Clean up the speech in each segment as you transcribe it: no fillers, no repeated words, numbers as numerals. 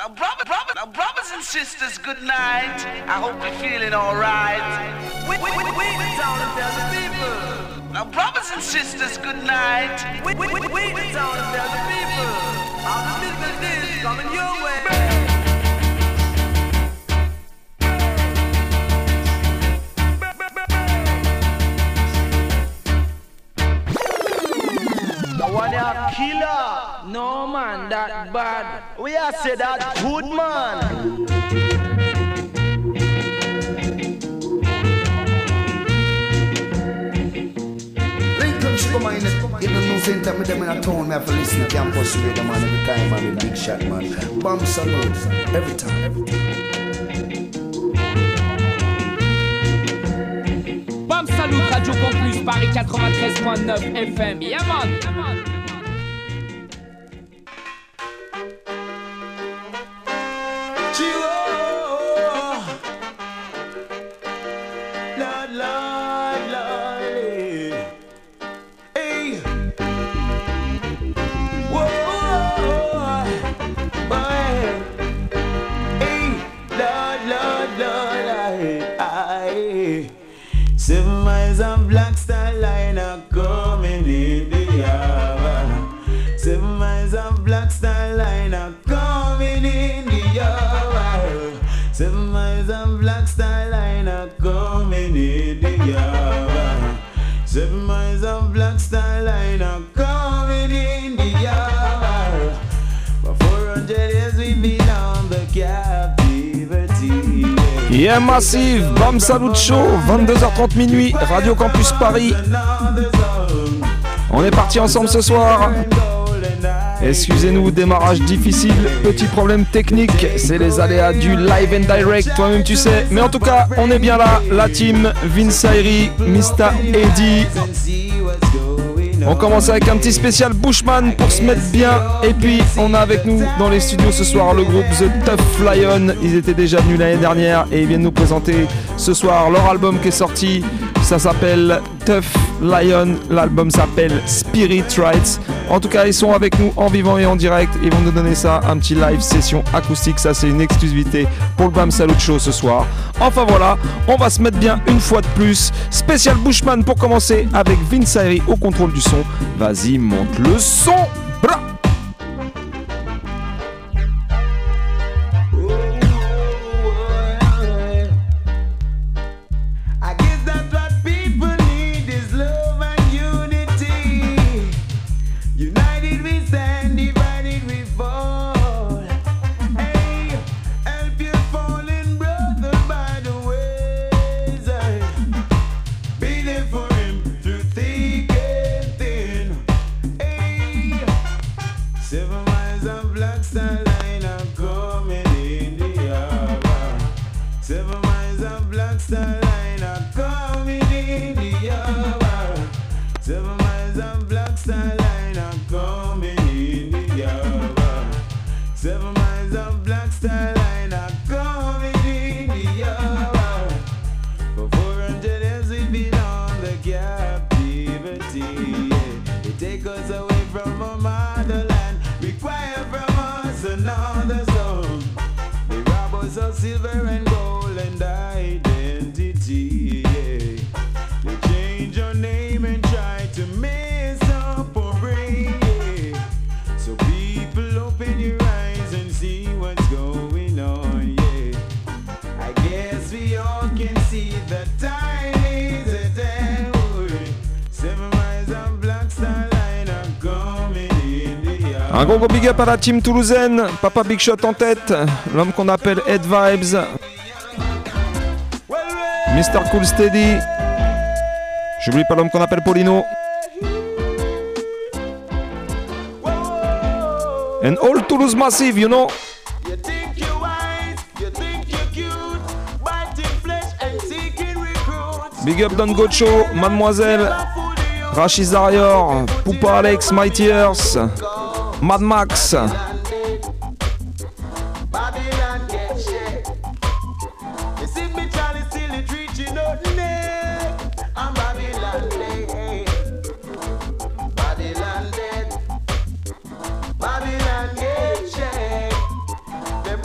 Now, brothers and sisters, good night. I hope you're feeling alright. We the town and tell the people. Now, brothers and sisters, good night. We the town and tell the people. How the business is coming your way. Killer. No man, that bad. We are say that good man. Lincoln Sugar Man, in the news center, me them in a town, me have to listen to Campus Radio, man, every time, man, big shot, man. Bomb salute, every time. Bomb salute, Radio Campus, Paris 93.9 FM. Yeah, man. Yeah, Massive, Bam Salut Show, 22h30 minuit, Radio Campus Paris. On est parti ensemble ce soir. Excusez-nous, démarrage difficile, petit problème technique, c'est les aléas du live and direct, toi-même tu sais. Mais en tout cas, on est bien là, la team Vince Ayri, Mr. Eddie. On commence avec un petit spécial Bushman pour se mettre bien. Et puis on a avec nous dans les studios ce soir le groupe The Tough Lion. Ils étaient déjà venus l'année dernière et ils viennent nous présenter ce soir leur album qui est sorti. Ça s'appelle Tough Lion. L'album s'appelle Spirit Rights. En tout cas, ils sont avec nous en vivant et en direct. Ils vont nous donner ça, un petit live session acoustique. Ça, c'est une exclusivité pour le Bam Salut Show ce soir. Enfin voilà, on va se mettre bien une fois de plus. Spécial Bushman pour commencer avec Vince Ayri au contrôle du son. Vas-y, monte le son. Bra. Un gros big up à la team toulousaine, Papa Big Shot en tête, l'homme qu'on appelle Head Vibes, Mr. Cool Steady, j'oublie pas l'homme qu'on appelle Paulino, and all Toulouse Massive, you know. Big up Don Gocho, Mademoiselle, Rachid Zarior, Poupa Alex, Mighty Earth, Mad Max. Babylon get checked. Them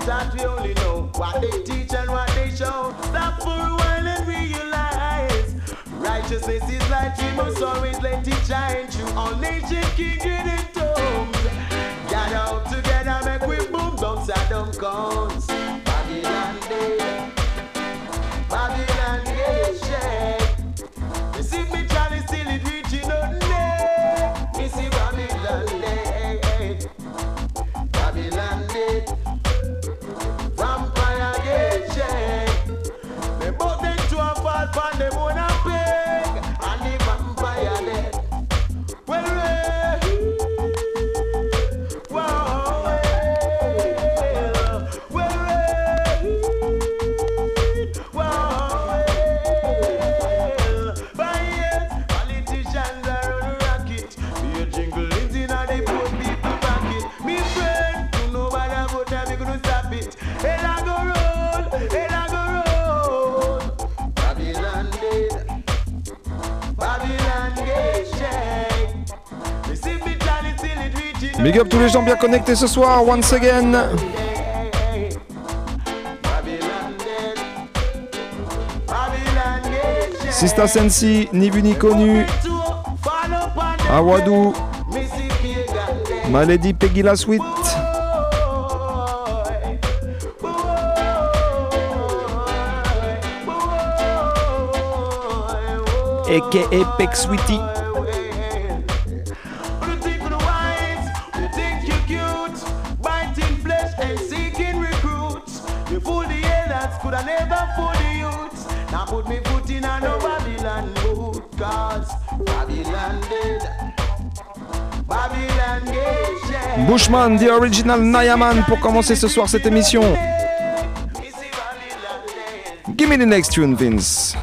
thought we only know what they teach and what they show. Stop for a while and realize righteousness is light, we must always let it shine through all nations, kindred and tongues. Gather out together, make we boom down Saddam cones. Babylon dead, Babylon get shake. You see me Charlie still it reaching out there. You see Babylon dead, Babylon dead. Vampire get shake. They both them two and fall from them on a peg. And the vampire dead. Well, politicians are on a rocket. Be a jingle in the poor people pocket. Me friend, you know what about them, you gonna stop it. Hell I go roll, hell I go roll. Babylon dead, Babylon get shake. You see me Charlie till it reaching. Big up tous les gens bien connectés ce soir, once again. Babylon dead, Babylon get shake. Sista Sensi, ni vu ni connu. Awadou, My Lady Peggy La Sweet. A.K.A. Peg Sweetie. Could I never fool the youths? Now put me foot in a no Babylon boot. Cause Babylon dead, Babylon get shake. Bushman, the original Nayaman pour commencer ce soir cette émission. Give me the next tune, Vince.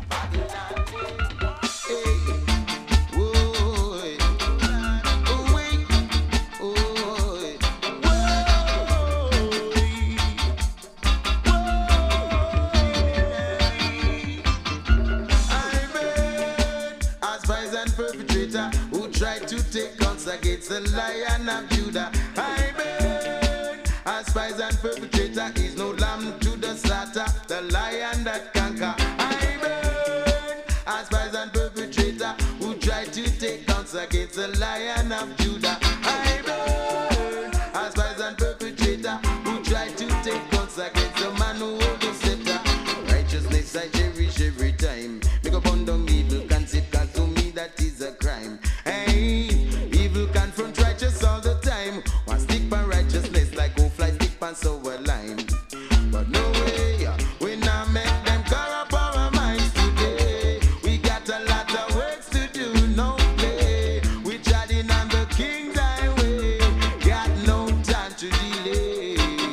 Against the Lion of Judah, I burn. As spies and perpetrator is no lamb to the slaughter, the lion that conquer. I burn. As spies and perpetrator who try to take guns against the Lion of Judah. I burn. As spies and perpetrator who try to take guns against the man who holds the scepter. Righteousness I cherish every time. Make up on down evil concept, cause to me that is a crime. Hey. Confront righteous all the time. One stick by righteousness like go fly stick pan sour lime. But no way, we not make them corrupt our minds today. We got a lot of works to do, no play. We treading on the King's highway, got no time to delay.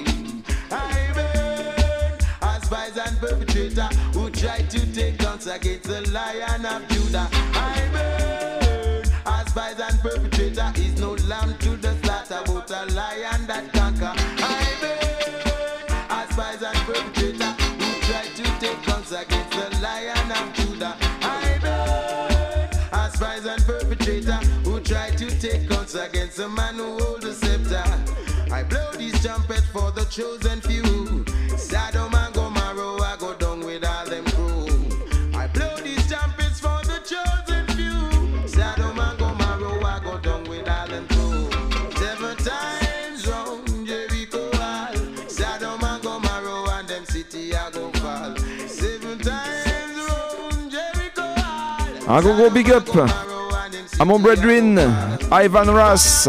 I burn as spies and perpetrator who try to take guns against the Lion of Judah. I burn as spies and perpetrator is no lamb to the slaughter, but a lion that conquer. I burn as spies and perpetrator who try to take guns against the Lion of Judah. I burn as spies and perpetrator who try to take guns against the man who holds the scepter. I blow this trumpet for the chosen few. Sodom and Gomorrah, I go down with all them crew. I blow these trumpets for the chosen few. Sodom and Gomorrah, I go down with all them crew. 7 times round Jericho wall. Sodom and Gomorrah and them city I go fall. 7 times round Jericho wall. Un gros big up à mon brethren Ivan Ross.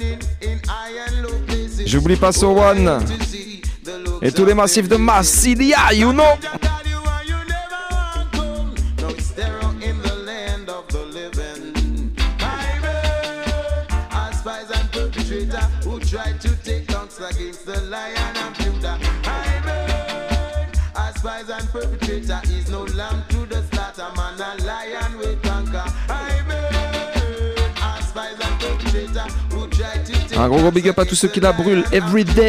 J'oublie pas So One et tous les massifs de Massilia, you know. Who tried to take guns against the Lion of Judah. I burn as spies and perpetrator is no lamb to the slaughter, man a lion will conquer. I burn as spies and perpetrator who tried to take. Un gros big up à tous ceux qui la brûlent every day.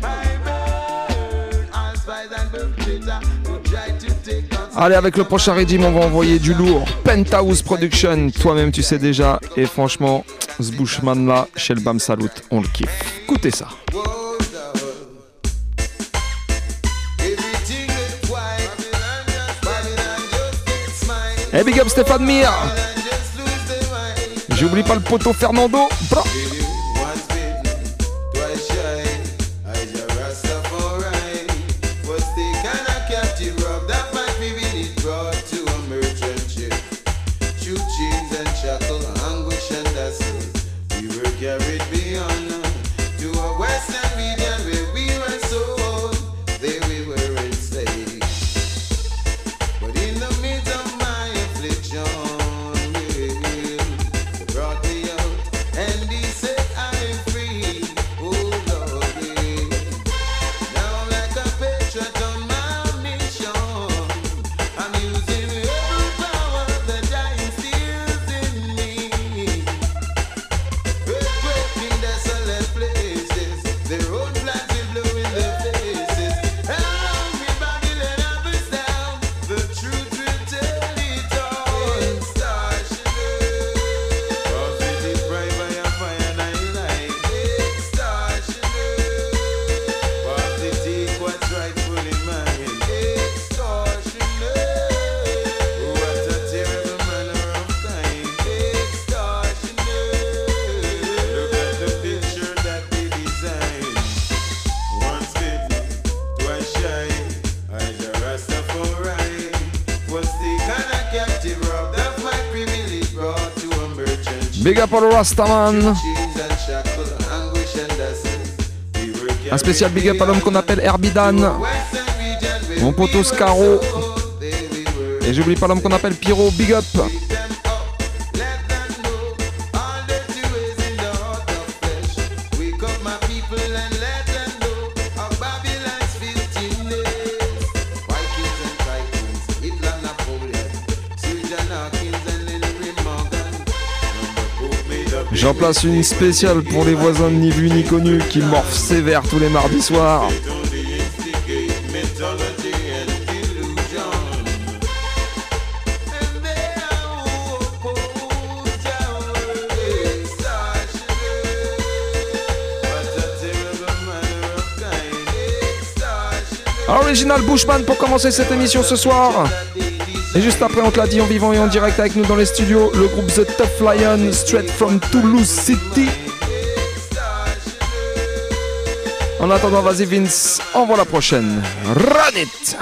Allez, avec le prochain régime, on va envoyer du lourd. Penthouse Production, toi-même tu sais déjà. Et franchement, ce Bushman là, chez le Bam Salut, on le kiffe. Écoutez ça. Hey, big up Stéphane Mir. J'oublie pas le poteau Fernando. Bra. Big up all Rastaman. Un spécial big up à l'homme qu'on appelle Herbidan. Mon poteau Scaro. Et j'oublie pas l'homme qu'on appelle Pyro. Big up. J'en place une spéciale pour les voisins de ni vu ni connus qui morphent sévère tous les mardis soirs. Original Bushman pour commencer cette émission ce soir. Et juste après, on te l'a dit, en vivant et en direct avec nous dans les studios, le groupe The Tough Lion, straight from Toulouse City. En attendant, vas-y Vince, envoie la prochaine. Run it!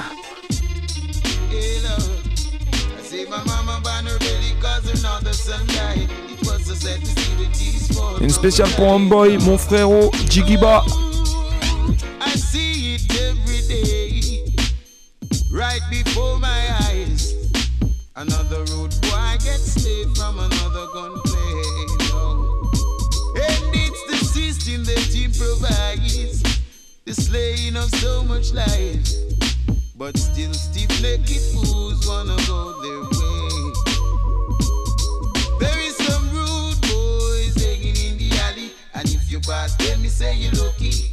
Une spéciale pour Homeboy, mon frérot, Jigiba. Right before my eyes, another road boy gets saved from another gunplay. No. And it's the system that improvises the slaying of so much life. But still stiff-necked fools wanna go their way. There is some rude boys hanging in the alley, and if you pass them, me say you're lucky.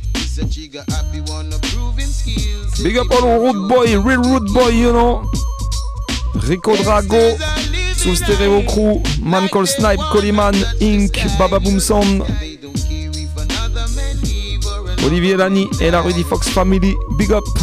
Big up all Rude Boy, real Rude Boy, you know. Rico Drago, sous Stereo Crew, Man Call Snipe, Colyman, Inc, Baba Boom Sound, Olivier Lani et la Rudy Fox Family. Big up.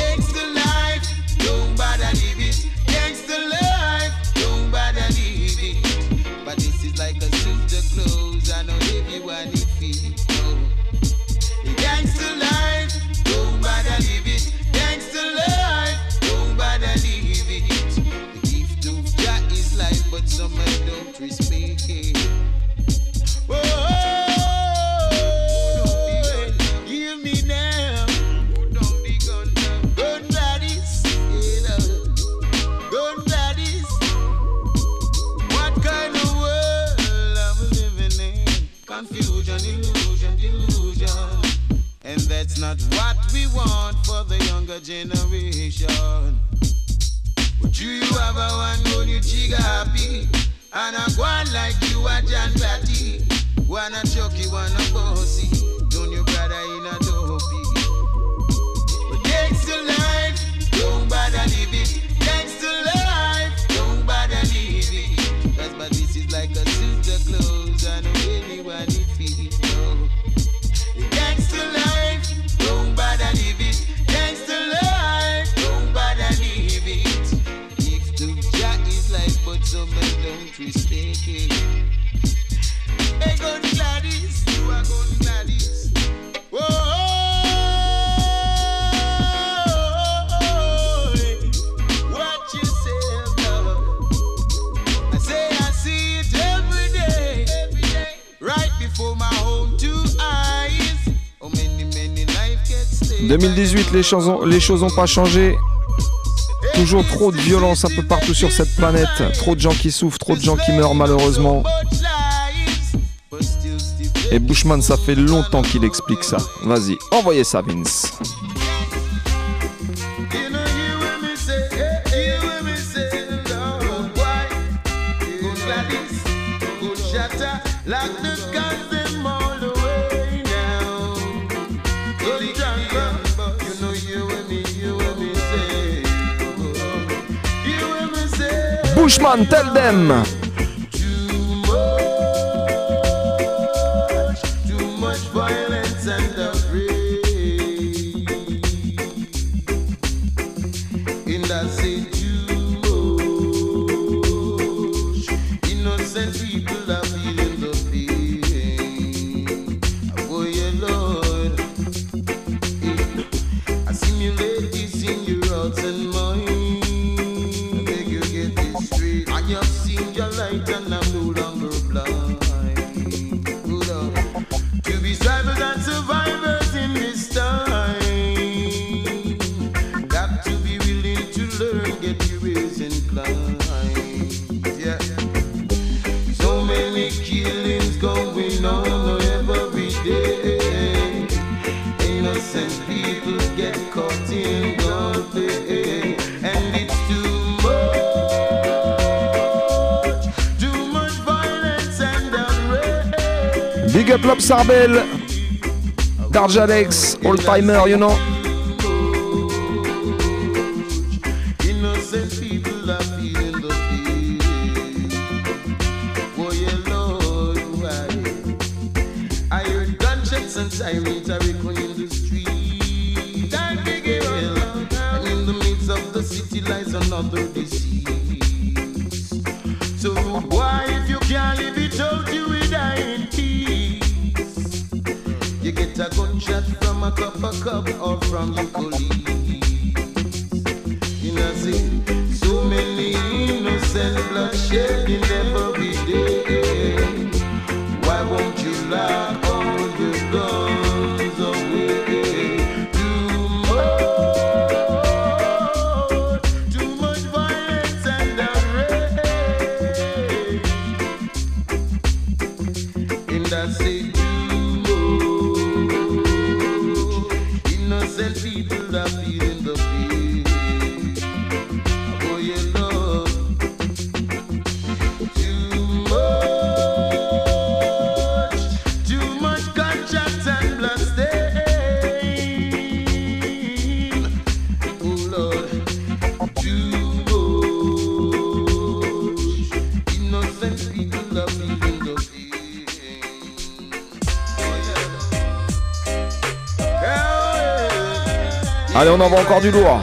Not what we want for the younger generation. But you have a one goal, you chiga happy. And I go on like you a John Batty. Wanna chucky, wanna bossy. Don't you brother in a dopey. But thanks to life, don't bother live it. Thanks to life, don't bother live it. That's but this is like a suit of clothes. I know anyone it feels. Thanks to life, don't bother leave it. Thanks to life, don't bother leave it. If to Jah is life, but so man don't mistake it. Hey, gun Gladys, you are gun Gladys. Whoa. En 2018, les choses n'ont pas changé. Toujours trop de violence un peu partout sur cette planète. Trop de gens qui souffrent, trop de gens qui meurent malheureusement. Et Bushman, ça fait longtemps qu'il explique ça. Vas-y, envoyez ça, Vince. Bushman, tell them. Too much violence and outrage. In that say too much. Innocent people are feeling the pain. Oh yeah, Lord. I simulate this in your hearts and minds. And you've seen your light and I'm no longer blind. To be survivors and survivors in this time. Got to be willing to learn, get your ears inclined. Yeah. So many killings going on every day. Innocent people get caught in gunplay. And it's too much. Big up Lop Sarbel, Darjalex, Old Timer, you know. Innocent people are feeling the pain. Oh yeah, Lord, why? I heard gunshots and sirens are echoing in the street. And in the midst of the city lies another disease. So why, if you can't live it out, you will die in peace. You get a gunshot from a cup or from your colleague. You know, see, so many innocent blood shedding every day. Why won't you lock all your guns away? Too much violence and outrage. In that state. Innocent people are feeling the pain. Oh yeah, Lord. Too much gunshots and blood stain. Oh Lord, too much. Innocent people are feeling the pain. Oh yeah. Allez, on envoie encore du lourd.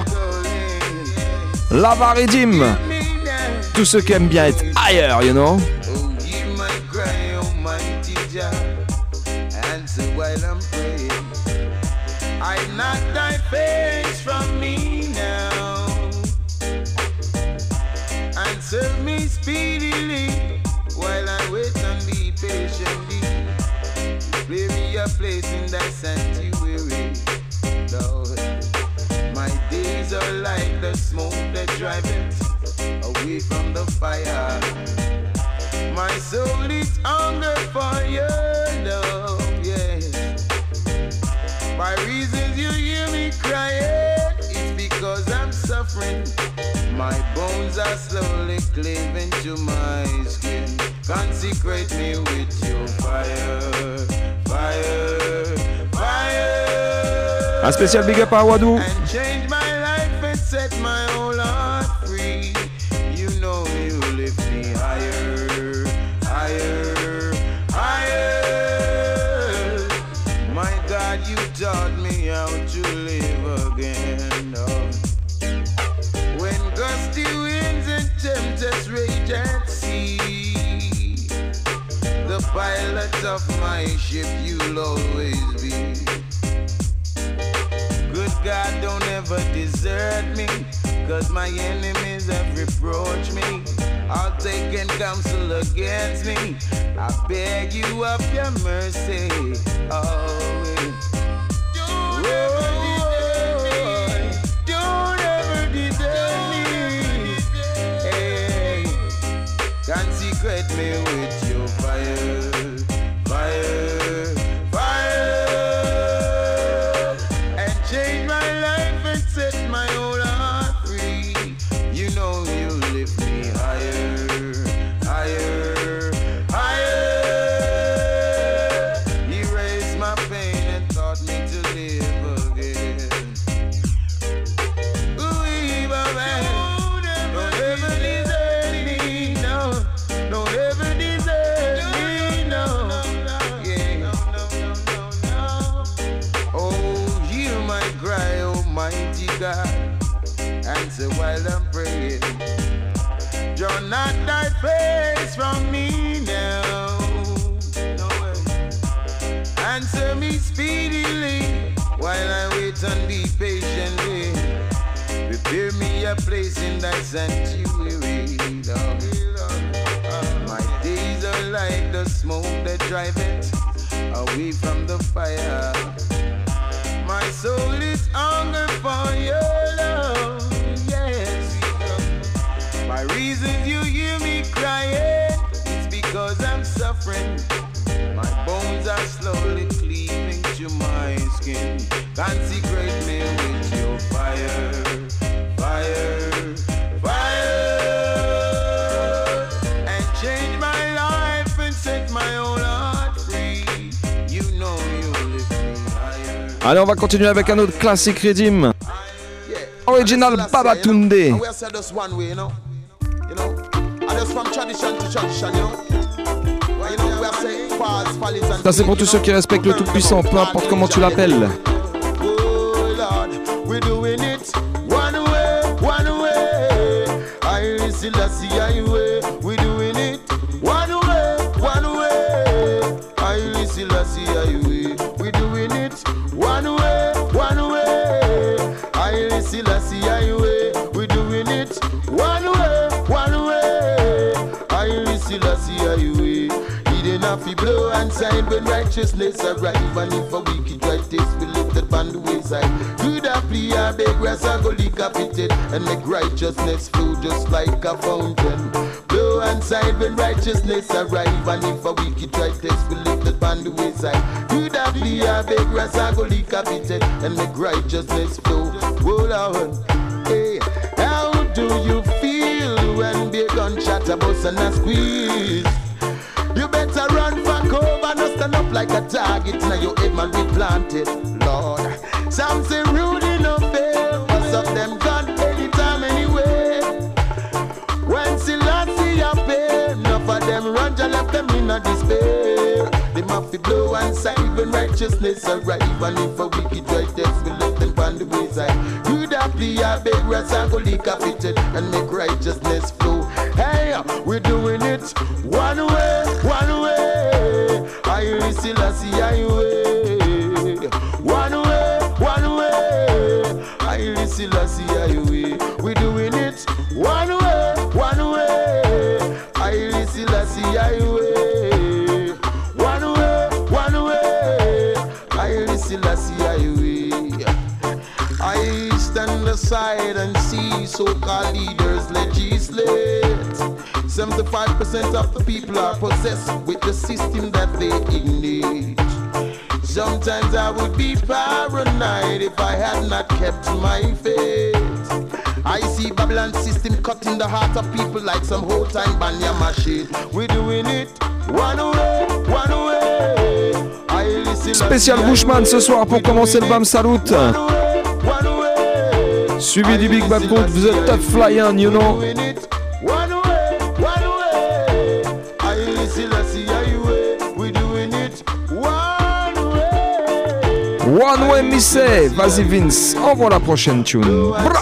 Lava Redim. Tous ceux qui aiment bien être ailleurs, you know. Hide not thy face from me now. Answer me speedily while I wait and be patiently. Play me a place in thy sanctuary, Lord. My days are like the smoke that driveth away from the fire. My soul is hunger for your love, yes. By reasons you hear me crying, it's because I'm suffering. My bones are slowly cleaving to my skin. Consecrate me with your fire, fire, fire. Un spécial big up à Wadou. And change my life and set my whole heart free. You know you lift me higher, higher, higher. My God, you taught me how to live again. Oh. When gusty winds and tempest rage and of my ship, you'll always be. Good God, don't ever desert me, 'cause my enemies have reproached me. All taken counsel against me. I beg you of your mercy. Always. Don't ever desert me. Don't ever desert me. Hey, consecrate me with your fire, fire, fire, and change my life and set my whole heart free. You know you lift me higher, higher, higher. Erase my pain and taught me to live again. Ooh, evil man, don't ever desert me, no. Don't ever desert me, no. Yeah. Oh, hear my cry, Almighty God. Answer while I'm praying. Draw not thy face from me now. No way. Answer me speedily while I wait and be patiently. Prepare me a place in thy sanctuary, Lord. My days are like the smoke that driveth away from the fire. My soul is hunger for your love, yes. By reasons you hear me crying, it's because I'm suffering. My bones are slowly cleaving to my skin. Consecrate me with your fire, fire, fire, and change my life and set my whole heart free. You know you lift me higher. Allez, on va continuer avec un autre classique Redim. Original Babatunde. We are said this one way, you know. And just from tradition to tradition, you know. Well, you know, we are saying falls, follies and Ça c'est pour tous ceux qui respectent le Tout-Puissant, peu importe comment tu l'appelles. Oh Lord, we're doing it one way, one way. I still see I way. We're doing it one way, one way. I still see I way. We're doing it one way, one way. I still see I way. We're doing it one way, one way. I still see I way. Enough he blow and sign when righteousness arrive. And if a wicked right taste be lifted on the wayside, good a plea a beg grass a go decapitated and make righteousness flow just like a fountain. Blow and sign when righteousness arrive. And if a wicked right taste be lifted on the wayside, good a plea a beg grass a go decapitated and make righteousness flow. Hold on, hey, how do you feel when big gunshot a bust and a squeeze? You better run for cover, no stand up like a target. Now your head man be planted, Lord. Some say rude enough fail, but some them gone anytime anyway. When Selassie appear, enough of them run, just left them in a despair. They must be blow and side when righteousness arrive. And if a wicked righteous will let them on the wayside, good a plea a beg rats and go decapitated and make righteousness flow. Hey, we're doing it one way, one way. I still see I way. One way, one way. I still see I way. We're doing it one way, one way. I still see I way. One way, one way. I still see I way. I stand aside and see so-called leaders legislate. 75% of the people are possessed with the system that they ignite. Sometimes I would be paranoid if I had not kept my faith. I see Babylon system cutting the heart of people like some whole time banya machine. We're doing it one way, one way. Spécial Bushman ce soir pour commencer le Bam Salut. Suivi du Big Bad Boot, vous êtes tough flying, you know. One Way Missé, vas-y Vince, envoie la prochaine tune. Bra.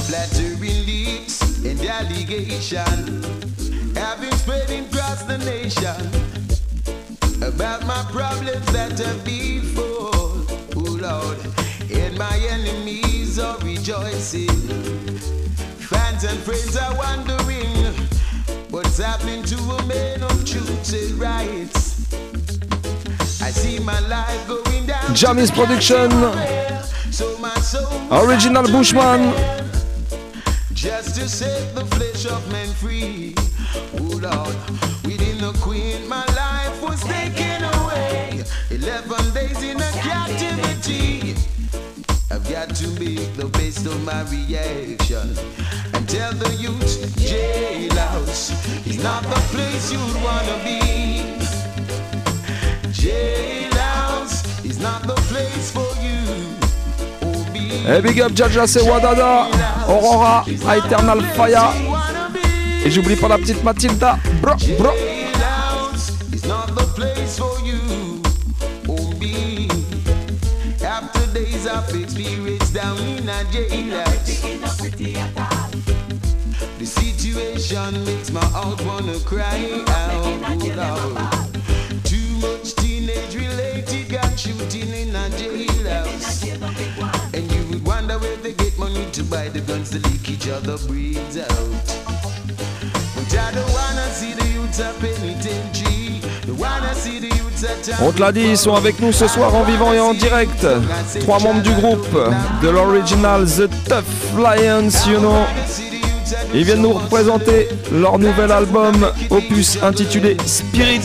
Flattering leaks and allegation have been spreading across the nation about my problems that have before. Oh Lord, and my enemies are rejoicing. Fans and friends are wondering what's happening to a man of truth and rights. I see my life going down. Jamis Production, Original Bushman. Just to set the flesh of men free. Oh Lord, within the queen, my life was taken away. 11 days in a captivity. I've got to make the best of my reaction and tell the youth, jailhouse is not the place you'd wanna be. Jailhouse is not the place for you. Hey, big up Jaja, c'est Wadada, Aurora, Eternal Fire. Et j'oublie pas la petite Mathilda. Bro, bro. Jailhouse is not the place for you. After days of experience down in a jailhouse, the situation makes my heart wanna cry out. Lord. Too much teenage-related gun shooting in a jailhouse, and you would wonder where they get money to buy the guns to leak each other breeds out. But I don't wanna see the youths of penitentiary. On te l'a dit, ils sont avec nous ce soir en vivant et en direct. 3 membres du groupe de l'original The Tough Lions, you know. Ils viennent nous représenter leur nouvel album, opus intitulé Spirit.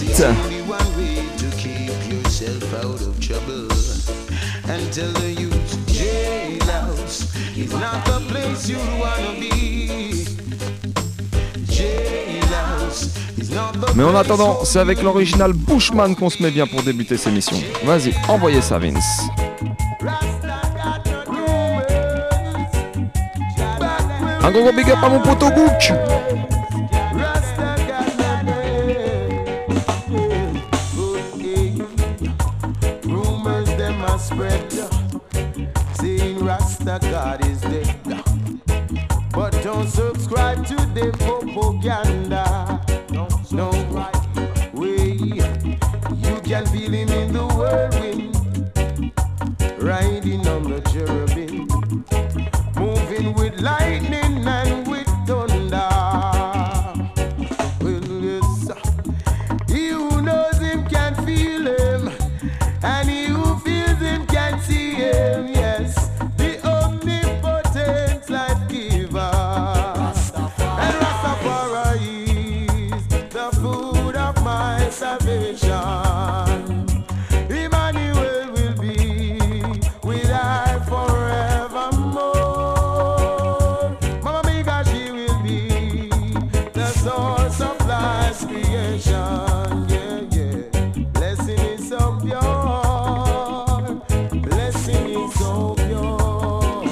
Mais en attendant, c'est avec l'original Bushman qu'on se met bien pour débuter ces missions. Vas-y, envoyez ça, Vince. Un gros big up à mon poteau Gook. Rasta God is dead, but don't subscribe to the propaganda. No way, you can feel him in the whirlwind, riding on the cherubim, moving with lightning and with thunder. Well, yes, he who knows him can feel him, and he who feels him can see him. Yes. Emmanuel will be with I forevermore. Mama Miga, she will be the source of life's creation. Yeah, yeah. Blessing is so pure. Blessing is so pure.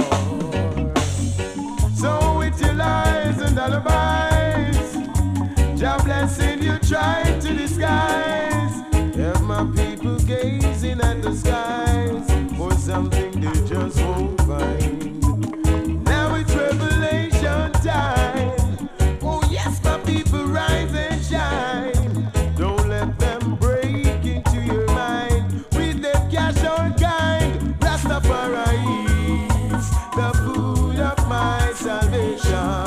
So with your lies and alibis, Jah blessing you try to disguise. Have my people gazing at the skies for something they just won't find. Now it's revelation time. Oh yes, my people rise and shine. Don't let them break into your mind with their cash on kind. Rastafari is the food of my salvation.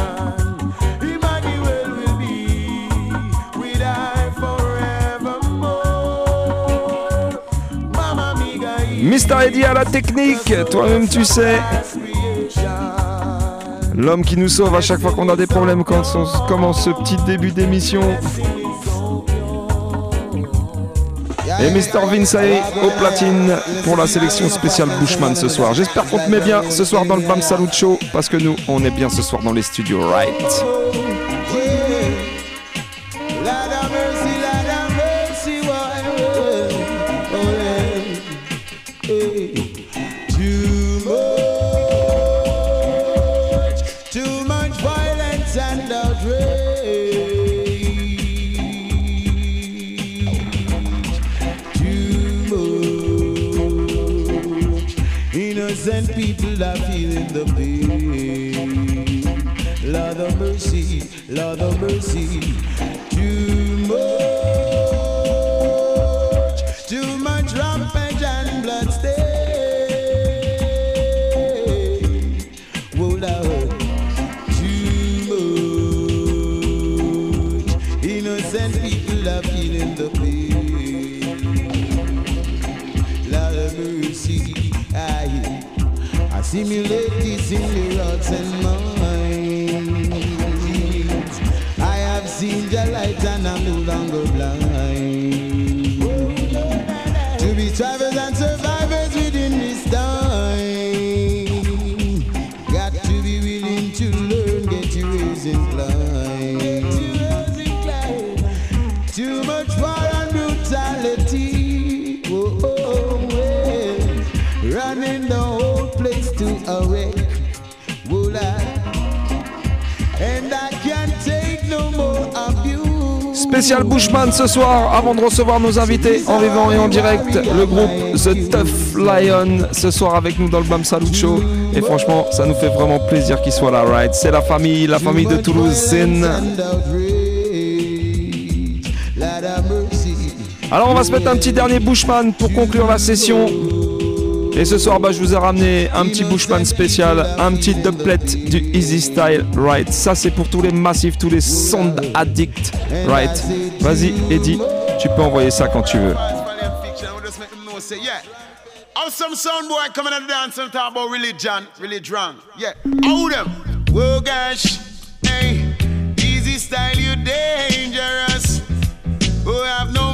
Mr. Eddie à la technique, toi-même tu sais. L'homme qui nous sauve à chaque fois qu'on a des problèmes quand on commence ce petit début d'émission. Et Mr. Vince au platine pour la sélection spéciale Bushman ce soir. J'espère qu'on te met bien ce soir dans le Bam Salut Show, parce que nous, on est bien ce soir dans les studios, right? Innocent people are feeling the pain. Lord of mercy, Lord of mercy. Too much rampage and blood stain. Oh Lord, too much. Innocent people are feeling the pain. Lord of mercy, I simulate this in the hearts and minds. I have seen the light and I'm no longer blind. To be travelers and survivors within this time, got to be willing to learn, get your ears inclined. Too much war and brutality, running the whole place to a wreck. And I can't take no more abuse. Spécial Bushman ce soir, avant de recevoir nos invités en vivant et en direct, le groupe The Tough Lion ce soir avec nous dans le Bam Salut Show. Et franchement, ça nous fait vraiment plaisir qu'ils soient là, right? C'est la famille de Toulouse Sin. Alors on va se mettre un petit dernier Bushman pour conclure la session. Et ce soir, je vous ai ramené un petit Bushman spécial, un petit doublet du Easy Style, right? Ça, c'est pour tous les massifs, tous les sound addicts, right? Vas-y, Eddie, tu peux envoyer ça quand tu veux. Some sound boy coming and dance and talk about religion, really drunk. Yeah, how them? Whoa, gosh, hey, Easy Style, you dangerous. Oh, have no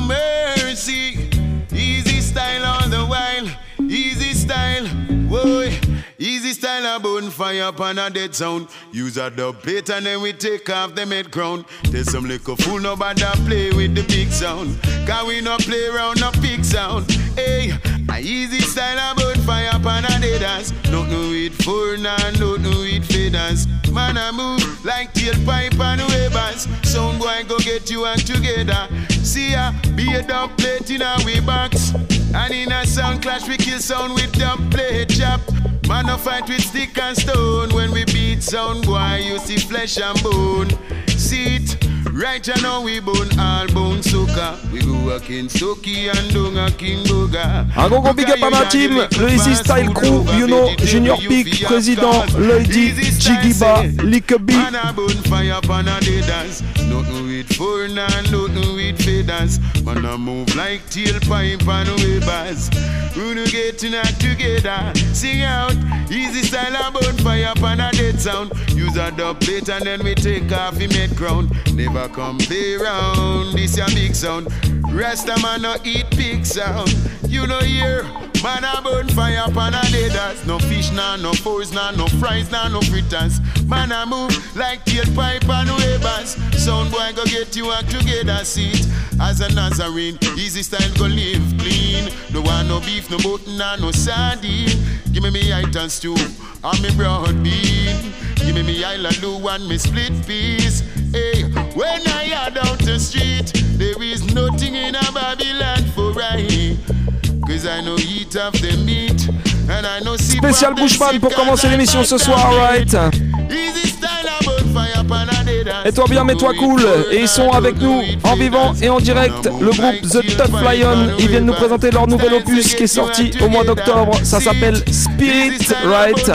mercy. Easy Style all the while. Easy Style, whoa, Easy Style a bonfire upon a dead sound. Use a dub plate and then we take off the mid crown. There's some little fool nobody play with the big sound. Cause we no play around no big sound. Hey, a Easy Style a bonfire upon a dead ass. Nothing with four, nothing with feathers. Man a move like tailpipe and wavers. Sound boy go get you and together. See ya, be a dub plate in a way box. And in a sound clash we kill sound with dub plate chop. Man a fight with stick and stone. When we beat sound boy you see flesh and bone. See it, right now we bone all bone soca. We go a King Soki and don't a King Boga. Un gros big up à ma team, le Easy Style Crew, you know, Junior Peak, Président, Lady, Jigiba, Likabi. Man a bonfire upon a day dance. Nothing with four, nothing with feathers. Man a move like tailpipe and wavers. We no getting that together. Sing out, Easy Style a bonfire upon a dead sound. Use a dub plate and then we take off the mid crown. Never come play round, this a big sound. Rasta man no eat pig sound. You know here, man a bonfire upon a dead dance. No fish nah, no fours nah, no fries nah, no fritters. Man a move like tailpipe and wavers. Sound boy go get you act together, see it. As a Nazarene, Easy Style go live clean. No want no beef, no mutton, no sardine. Give me item stew and me broad bean. Give me island do and me split piece. Hey, when I are down the street, there is nothing in a Babylon for I. Cause I know eat of the meat. And I know see Spécial Bushman pour commencer l'émission ce soir, right? Easy Style about fire upon a day dance. Et toi bien, mets-toi cool. Et ils sont avec nous en vivant et en direct. Le groupe The Tough Lion. Ils viennent nous présenter leur nouvel opus qui est sorti au mois d'octobre. Ça s'appelle Spirit, right?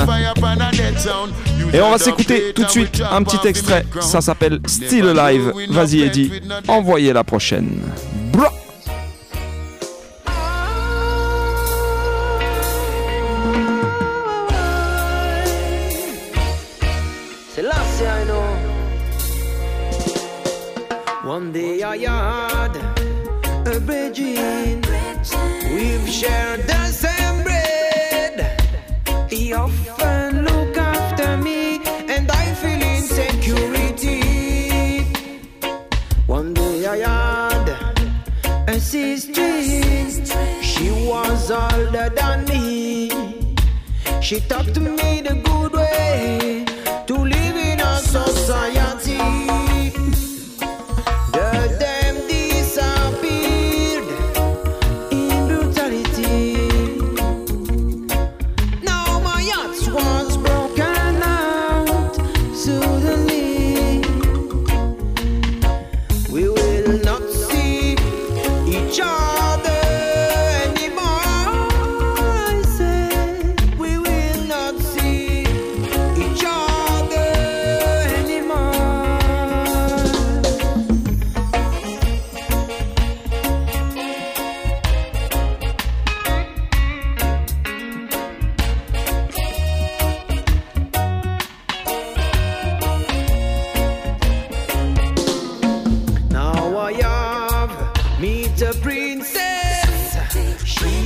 Et on va s'écouter tout de suite un petit extrait. Ça s'appelle Still Alive. Vas-y Eddie, envoyez la prochaine. Bro. One day I had a bridging. We've shared the same bread. He often look after me, and I feel insecurity. One day I had a sister. She was older than me. She taught me the good way to live in a society. Suddenly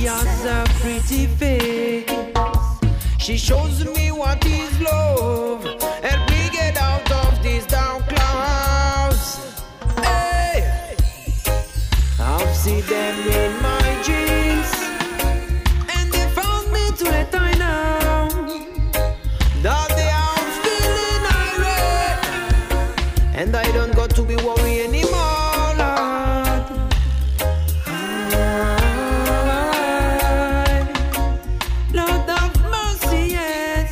has a pretty face. She shows me what is love. Help me get out of these dark clouds. Hey, I've seen them in my dreams, and they found me to let I know that they are feeling irate, and I don't got to be worried anymore, Lord. Lord of mercy, yes.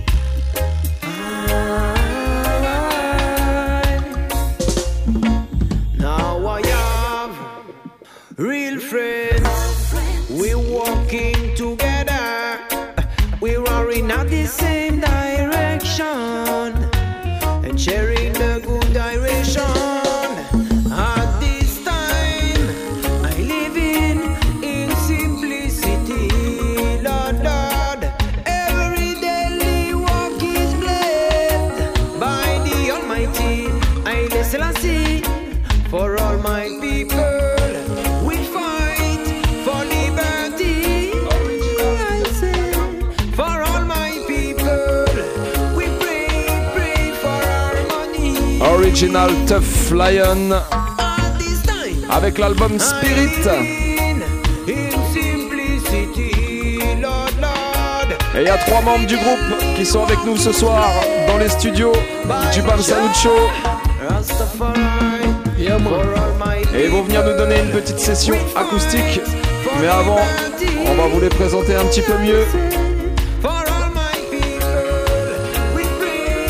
Now I have real friends. We're walking together. We're running at the same direction and sharing the good direction. At this time, I live in simplicity, Lord, Lord. Every daily walk is blessed by the Almighty. Haile Selassie, for all my people, we fight for liberty. I say, for all my people, we pray for harmony. Original Tough Lion At this time, avec l'album Spirit. in simplicity, Lord, Lord. Et il y a 3 membres du groupe qui sont avec nous ce soir dans les studios du Bam Salut Show. Rastafari, for all my Et ils vont venir nous donner une petite session acoustique. Mais avant, on va vous les présenter un petit peu mieux. For all my people, we pray.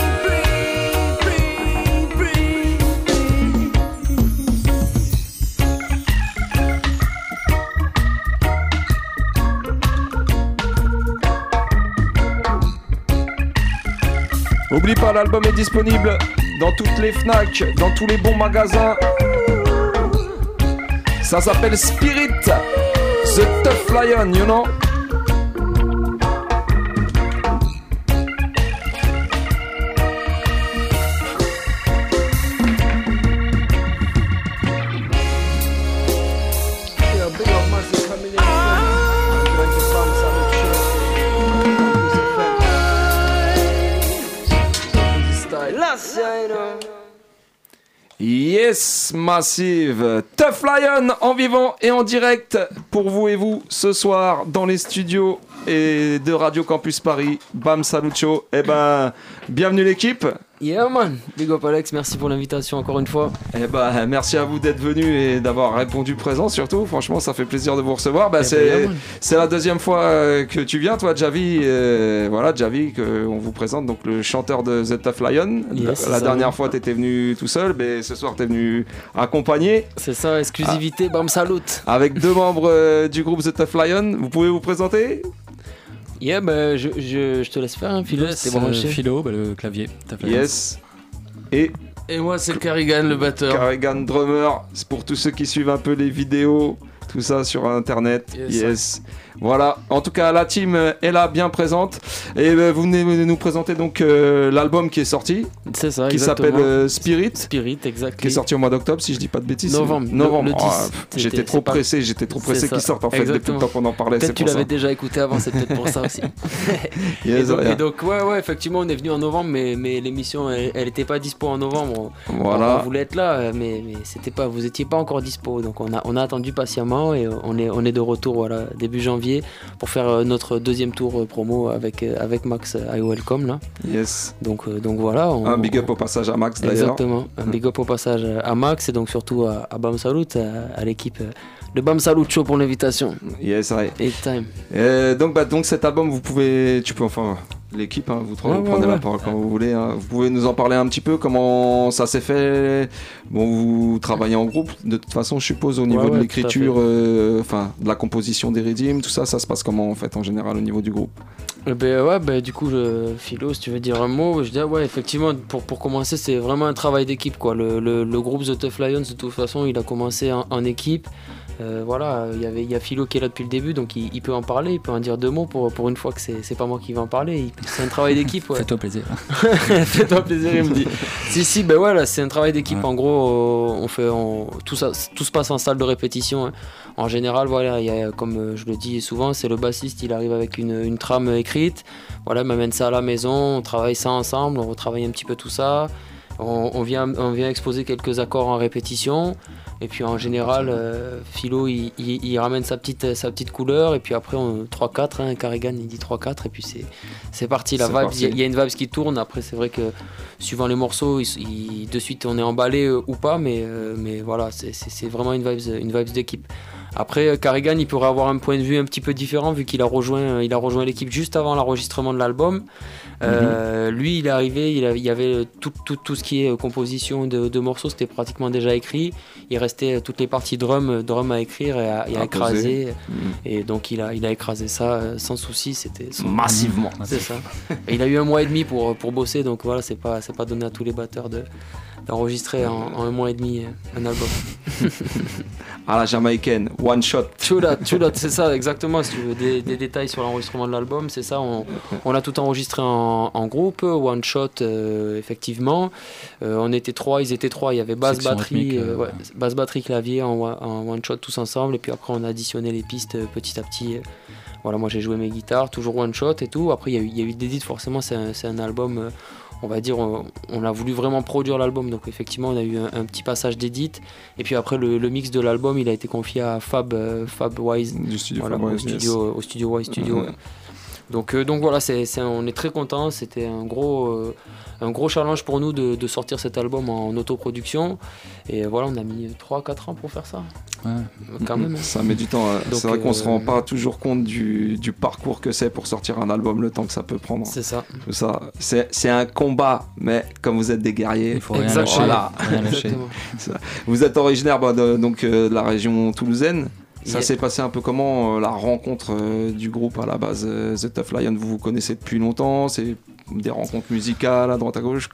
Oublie pas, l'album est disponible dans toutes les FNAC, dans tous les bons magasins. Ça s'appelle Spirit, The Tough Lion, you know. Yes, Massive, Tough Lion en vivant et en direct pour vous et vous ce soir dans les studios et de Radio Campus Paris. Bam Salut Show. Eh ben, bienvenue l'équipe. Yeah man, big up Alex, merci pour l'invitation encore une fois. Eh ben, merci à vous d'être venus et d'avoir répondu présent surtout. Franchement, ça fait plaisir de vous recevoir. Ben, c'est la deuxième fois que tu viens, toi, Javi. Voilà, Javi, on vous présente, donc le chanteur de The Tough Lion. Yes, la dernière fois, t'étais venu tout seul, mais ce soir, t'es venu accompagné. C'est ça, exclusivité, Bam Salut. Avec 2 membres du groupe The Tough Lion. Vous pouvez vous présenter? Yeah, bah, je te laisse faire, hein, Philo. Yes, C'était branché. Philo, le clavier. Yes. Et moi, c'est Carrigan, le batteur. Carrigan, drummer. C'est pour tous ceux qui suivent un peu les vidéos, tout ça sur internet. Yes. Voilà, en tout cas la team est là, bien présente. Et vous venez nous présenter donc l'album qui est sorti. C'est ça, qui exactement. s'appelle Spirit. Spirit, exactement. Qui est sorti au mois d'octobre, si je dis pas de bêtises. Novembre. Le 10. J'étais trop pressé qu'il sorte en fait depuis le temps qu'on en parlait. Peut-être tu l'avais déjà écouté avant, c'est peut-être pour ça aussi. et donc ouais, effectivement, on est venu en novembre, mais l'émission elle était pas dispo en novembre. Voilà. On voulait être là, mais c'était pas, vous étiez pas encore dispo, donc on a attendu patiemment et on est de retour, voilà, début janvier pour faire notre deuxième tour promo avec Max I Welcome là. Yes. Donc voilà. Un big up au passage à Max d'ailleurs. Exactement. Un big up au passage à Max et donc surtout à Bam Salut, à l'équipe de Bam Salut Show pour l'invitation. Yes, right. Anytime. Donc cet album, l'équipe, hein, vous prenez la parole quand vous voulez. Hein. Vous pouvez nous en parler un petit peu, comment ça s'est fait. Bon, vous travaillez en groupe, de toute façon, je suppose, au niveau de l'écriture, de la composition des rythmes, tout ça, ça se passe comment en fait, en général, au niveau du groupe? Du coup, Philo, si tu veux dire un mot, je dis effectivement, pour commencer, c'est vraiment un travail d'équipe, quoi. Le groupe The Tough Lions, de toute façon, il a commencé en équipe. Voilà, il y a Philo qui est là depuis le début, donc il peut en parler, il peut en dire 2 mots pour une fois que c'est pas moi qui vais en parler. C'est un travail d'équipe. Ouais. Fais-toi plaisir. Fais-toi plaisir, il me dit. Si, ben voilà, c'est un travail d'équipe. Ouais. En gros, tout se passe en salle de répétition. Hein. En général, voilà, il y a, comme je le dis souvent, c'est le bassiste, il arrive avec une trame écrite. Voilà, il m'amène ça à la maison, on travaille ça ensemble, on retravaille un petit peu tout ça. On vient exposer quelques accords en répétition. Et puis en général, Philo il ramène sa petite couleur. Et puis après, 3-4, hein, Carrigan il dit 3-4. Et puis c'est parti, la vibe. Il y a une vibe qui tourne. Après, c'est vrai que suivant les morceaux, de suite on est emballé ou pas. Mais voilà, c'est vraiment une vibe d'équipe. Après, Carrigan, il pourrait avoir un point de vue un petit peu différent vu qu'il a rejoint l'équipe juste avant l'enregistrement de l'album. Lui, il est arrivé, il y avait tout ce qui est composition de morceaux, c'était pratiquement déjà écrit. Il restait toutes les parties drum à écrire et à écraser. Et donc, il a écrasé ça sans souci. Massivement. C'est ça. Et il a eu 1 mois et demi pour bosser, donc voilà, c'est pas donné à tous les batteurs d'enregistrer en 1 mois et demi un album. À la jamaïcaine, one shot. True that, c'est ça exactement. Si tu veux des détails sur l'enregistrement de l'album, c'est ça. On a tout enregistré en groupe, one shot effectivement. On était 3, ils étaient 3. Il y avait basse, batterie, clavier en one shot tous ensemble. Et puis après on a additionné les pistes petit à petit. Voilà, moi j'ai joué mes guitares, toujours one shot et tout. Après il y a eu des edits, forcément c'est un album. On va dire, on a voulu vraiment produire l'album, donc effectivement on a eu un petit passage d'édit. Et puis après le mix de l'album, il a été confié à Fab Wise, du studio voilà, Fab Wise, au studio Wise Studio. Donc voilà, on est très contents. C'était un gros challenge pour nous de sortir cet album en autoproduction. Et voilà, on a mis 3-4 ans pour faire ça. Ouais. Quand même. Ça met du temps. Donc, c'est vrai qu'on se rend pas toujours compte du parcours que c'est pour sortir un album, le temps que ça peut prendre. C'est ça. Tout ça. C'est un combat, mais comme vous êtes des guerriers, il faut rien lâcher. Voilà. Rien lâcher. Vous êtes originaire de la région toulousaine. Ça s'est passé un peu comment la rencontre du groupe à la base, The Tough Lion? Vous connaissez depuis longtemps? C'est des rencontres musicales à droite à gauche?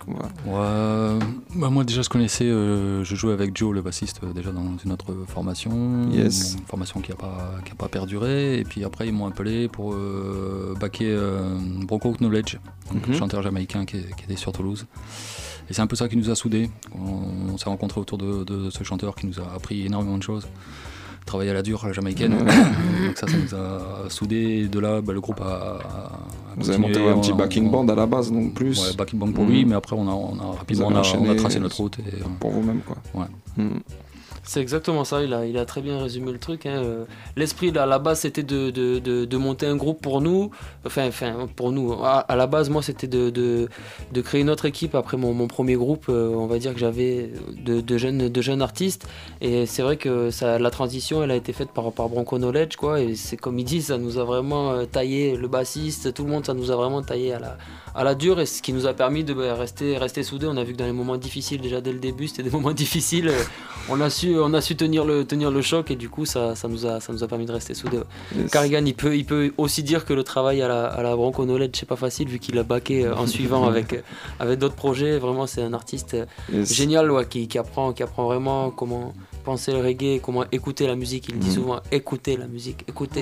Moi déjà je connaissais, je jouais avec Joe le bassiste déjà dans une autre formation, une formation qui a pas perduré, et puis après ils m'ont appelé pour backer Bronco Knowledge, donc chanteur jamaïcain qui était sur Toulouse. Et c'est un peu ça qui nous a soudés. On s'est rencontrés autour de ce chanteur qui nous a appris énormément de choses. Travailler à la dure, à la jamaïcaine. Donc ça nous a soudés. Et de là, le groupe a vous avez monté un petit backing band à la base, donc plus. Ouais, backing band pour lui, mais après on a rapidement tracé notre route. Et, pour vous-même, quoi. Ouais. C'est exactement ça, il a très bien résumé le truc. Hein. L'esprit à la base c'était de monter un groupe pour nous. Enfin pour nous. À la base moi c'était de créer une autre équipe après mon premier groupe. On va dire que j'avais de jeunes artistes. Et c'est vrai que la transition elle a été faite par Bronco Knowledge, quoi. Et c'est comme il dit, ça nous a vraiment taillé, le bassiste, tout le monde, ça nous a vraiment taillé à la dure, et ce qui nous a permis de rester soudés. On a vu que dans les moments difficiles, déjà dès le début c'était des moments difficiles, on a su tenir le choc, et du coup ça nous a permis de rester soudés. Yes. Carrigan il peut aussi dire que le travail à la Bronco Knowledge c'est pas facile vu qu'il a backé en suivant avec d'autres projets. Vraiment c'est un artiste génial, ouais, qui apprend vraiment comment penser le reggae, comment écouter la musique. Il dit souvent écouter la musique, écouter.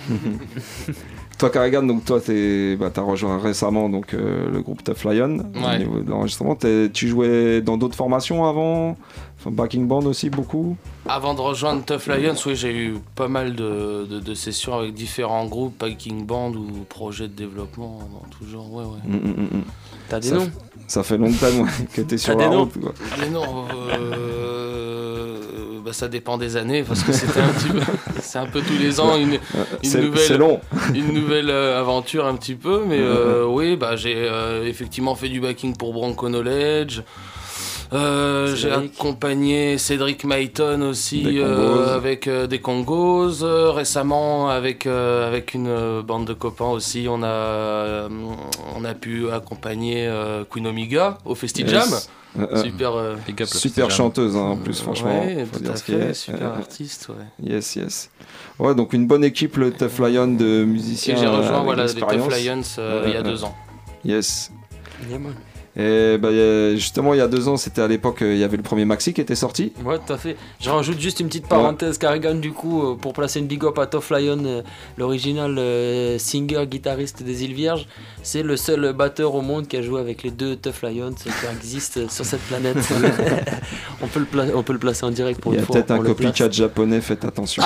Toi Carrigan, donc toi t'as rejoint récemment donc le groupe Tough Lion au niveau de l'enregistrement. Tu jouais dans d'autres formations avant, backing band aussi beaucoup? Avant de rejoindre Tough Lions, oui, j'ai eu pas mal de sessions avec différents groupes, backing band ou projets de développement dans tout genre. Ouais. T'as des noms? Ça fait longtemps que t'es sur la route, quoi. Les noms, ça dépend des années, parce que c'est un peu tous les ans une nouvelle aventure un petit peu, mais oui, j'ai effectivement fait du backing pour Bronco Knowledge. J'ai accompagné Cédric Mayton aussi avec des Congos. Récemment avec une bande de copains aussi, on a pu accompagner Queen Omega au Festival Jam. Super chanteuse en plus, franchement. Ouais, faut dire ce qu'il y a. Super artiste, ouais. Yes. Ouais, donc une bonne équipe, le Tough Lion de musiciens. Et j'ai rejoint les Tough Lions il y a 2 ans. Yes. Yeah, man. Et bah, justement, il y a 2 ans, c'était à l'époque, il y avait le premier maxi qui était sorti. Ouais, tout à fait. Je rajoute juste une petite parenthèse, Carrigan, du coup, pour placer une big up à Tough Lion, l'original singer, guitariste des Îles Vierges. C'est le seul batteur au monde qui a joué avec les 2 Tough Lions qui existent sur cette planète. on peut le placer en direct pour une fois. Il y a peut-être un copycat japonais, faites attention.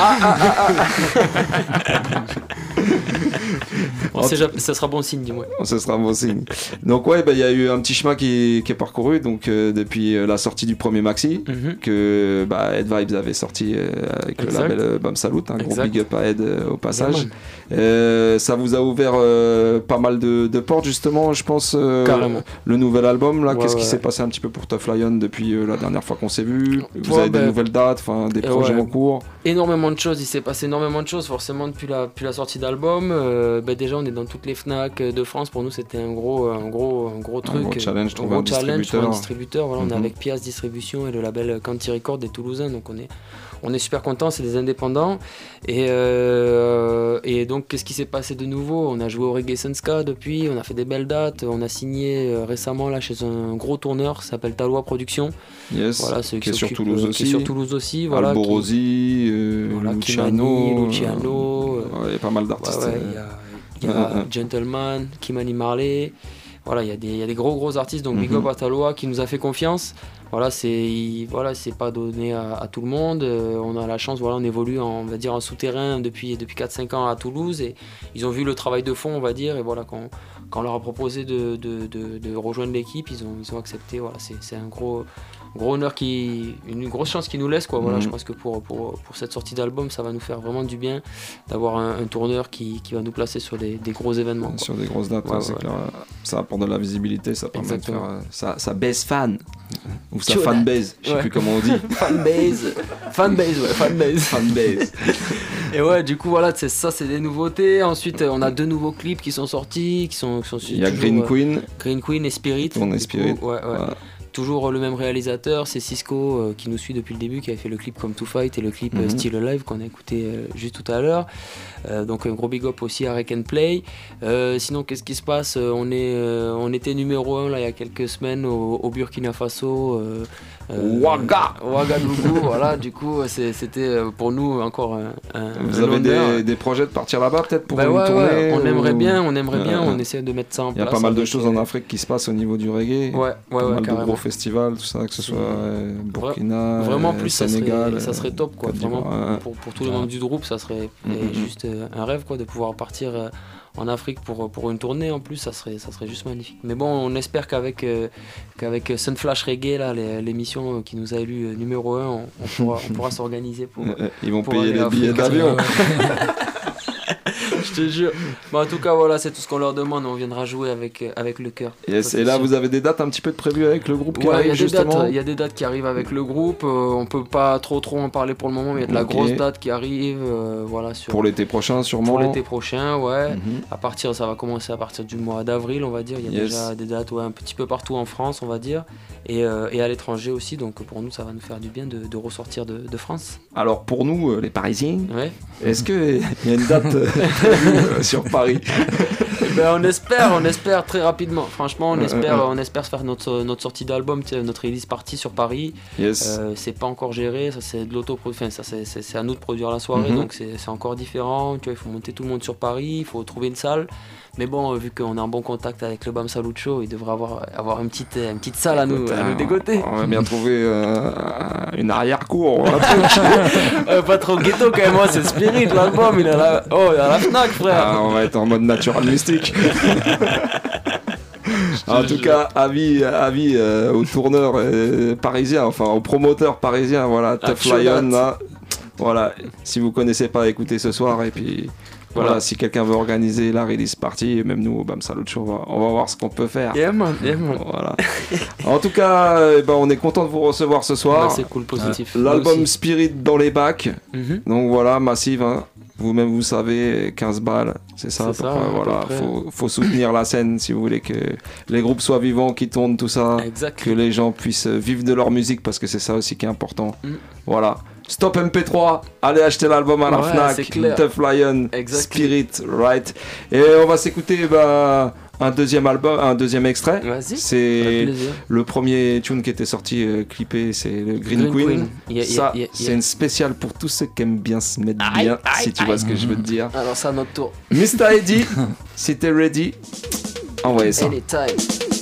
Ça sera bon signe, dis-moi. Ça sera bon signe. Donc ouais, bah, y a eu un petit chemin qui est parcouru donc depuis la sortie du premier maxi que Ed Vibes avait sorti avec le label Bam Salut, un gros big up à Ed au passage. Ça vous a ouvert pas mal de portes justement, je pense. Carrément. Le nouvel album là, qu'est-ce qui s'est passé un petit peu pour Tough Lion depuis la dernière fois qu'on s'est vu? Vous avez des nouvelles dates, des projets en cours? Énormément de choses, il s'est passé énormément de choses forcément depuis la sortie d'album. Déjà on est dans toutes les Fnac de France, pour nous c'était un gros truc, un gros challenge, trouver un distributeur. Voilà, on est avec Pias Distribution et le label Canty Records des Toulousains, donc on est super contents, c'est des indépendants. Et donc qu'est-ce qui s'est passé de nouveau? On a joué au Reggae Senska depuis, on a fait des belles dates, on a signé récemment là chez un gros tourneur qui s'appelle Talois Productions. Yes, voilà, qui est sur Toulouse aussi. Qui est sur Toulouse aussi. Voilà, Alborosi, Luciano. Il y a pas mal d'artistes. Il y a Gentleman, Kimani Marley. Voilà, il y a des gros artistes, donc Big Up à Talois qui nous a fait confiance. Voilà, c'est pas donné à tout le monde. On a la chance, on évolue on va dire en souterrain depuis 4-5 ans à Toulouse, et ils ont vu le travail de fond, on va dire, et voilà, quand on leur a proposé de rejoindre l'équipe, ils ont accepté. Voilà, c'est un gros honneur, une grosse chance qu'ils nous laissent, quoi. Voilà, je pense que pour cette sortie d'album, ça va nous faire vraiment du bien d'avoir un tourneur qui va nous placer sur des gros événements, quoi. Sur des grosses dates, c'est clair. Ça apporte de la visibilité, ça permet de faire sa base fan ou sa fanbase, je sais plus comment on dit. fanbase. Et ouais, du coup voilà, c'est des nouveautés. Ensuite, on a 2 nouveaux clips qui sont sortis, il y a Green Queen et Spirit. On est Spirit. Voilà. Toujours le même réalisateur, c'est Cisco qui nous suit depuis le début, qui avait fait le clip Come to Fight et le clip Still Alive qu'on a écouté juste tout à l'heure. Donc un gros big up aussi à Rec and Play. Sinon, qu'est-ce qui se passe? On était numéro 1 là, il y a quelques semaines au Burkina Faso. Ouagadougou, voilà, du coup c'était pour nous encore un Vous avez des projets de partir là-bas peut-être pour une tournée? On aimerait bien, on essaie de mettre ça en place. Il y a pas mal de choses en Afrique qui se passent au niveau du reggae. Pas mal de gros festivals, tout ça, que ce soit Burkina, vraiment plus Sénégal. ça serait top, quoi. Vraiment, pour tous les membres du groupe, ça serait juste un rêve, quoi, de pouvoir partir en Afrique pour une tournée. En plus, ça serait juste magnifique. Mais bon, on espère qu'avec Sunflash Reggae, là, l'émission qui nous a élu numéro 1, on pourra s'organiser pour. Ils vont payer les billets d'avion. Je te jure. En tout cas, voilà, c'est tout ce qu'on leur demande. On viendra jouer avec le cœur. Yes. Et là, vous avez des dates un petit peu de prévues avec le groupe qui arrive justement? Il y a des dates qui arrivent avec le groupe. On peut pas trop en parler pour le moment, mais il y a de la grosse date qui arrive. Voilà, pour l'été prochain, sûrement. Pour l'été prochain, ouais. Ça va commencer à partir du mois d'avril, on va dire. Il y a déjà des dates un petit peu partout en France, on va dire. Et à l'étranger aussi. Donc pour nous, ça va nous faire du bien de ressortir de France. Alors pour nous, les Parisiens, est-ce qu'il y a une date sur Paris? On espère très rapidement. Franchement, on espère faire notre sortie d'album, notre release party sur Paris. C'est pas encore géré, ça c'est de l'autoproduction. C'est à nous de produire la soirée, donc c'est encore différent. Tu vois, il faut monter tout le monde sur Paris, il faut trouver une salle. Mais bon, vu qu'on est en bon contact avec le Bam Salut Show, il devrait avoir une petite salle à nous dégoter. On va bien trouver une arrière-cour. Pas trop ghetto quand même, moi c'est Spirit, l'album, il est à la Fnac, frère. On va être en mode natural mystique. En tout cas, avis aux tourneurs parisiens, enfin aux promoteurs parisiens, voilà, Tough Lion, là, voilà, si vous connaissez pas, écoutez ce soir, et puis voilà, si quelqu'un veut organiser la release party, même nous au Bam Salut Show, on va voir ce qu'on peut faire. Yeah man. Voilà. En tout cas, on est content de vous recevoir ce soir. C'est cool, positif. L'album Spirit dans les bacs, donc voilà, Massive, hein. Vous-même vous savez, 15 balles, c'est ça. Voilà, faut soutenir la scène si vous voulez que les groupes soient vivants, qu'ils tournent, tout ça, que les gens puissent vivre de leur musique, parce que c'est ça aussi qui est important. Voilà. Stop MP3, allez acheter l'album à la Fnac, Tough Lion, Spirit, right. Et on va s'écouter un deuxième album, un deuxième extrait. Vas-y. C'est le premier tune qui était sorti clippé, c'est le Green Queen. Ça, c'est une spéciale pour tous ceux qui aiment bien se mettre bien, si tu vois ce que je veux te dire. Alors ça, à notre tour. Mr. Eddie, si t'es ready, envoyez ça. Anytime.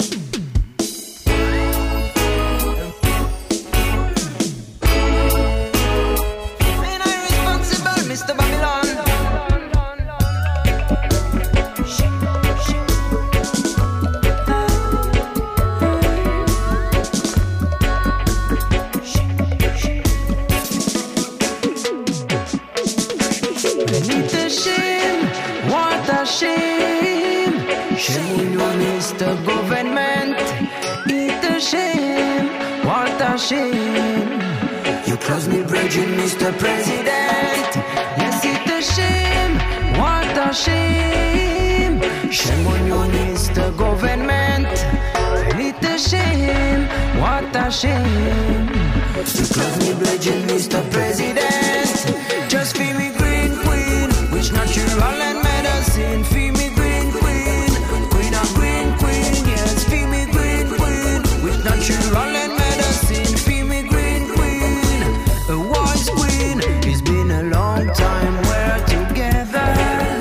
You close me bridging, Mr. President. Yes, it's a shame, what a shame. Shame on you, Mr. Government. It's a shame, what a shame. You close me bridging, Mr. President. Just feel me green queen, which natural and medicine. Feel me green queen, queen and green queen. Yes, feel me green queen, which natural and medicine. Feel me green queen, a wise queen. It's been a long time we're together.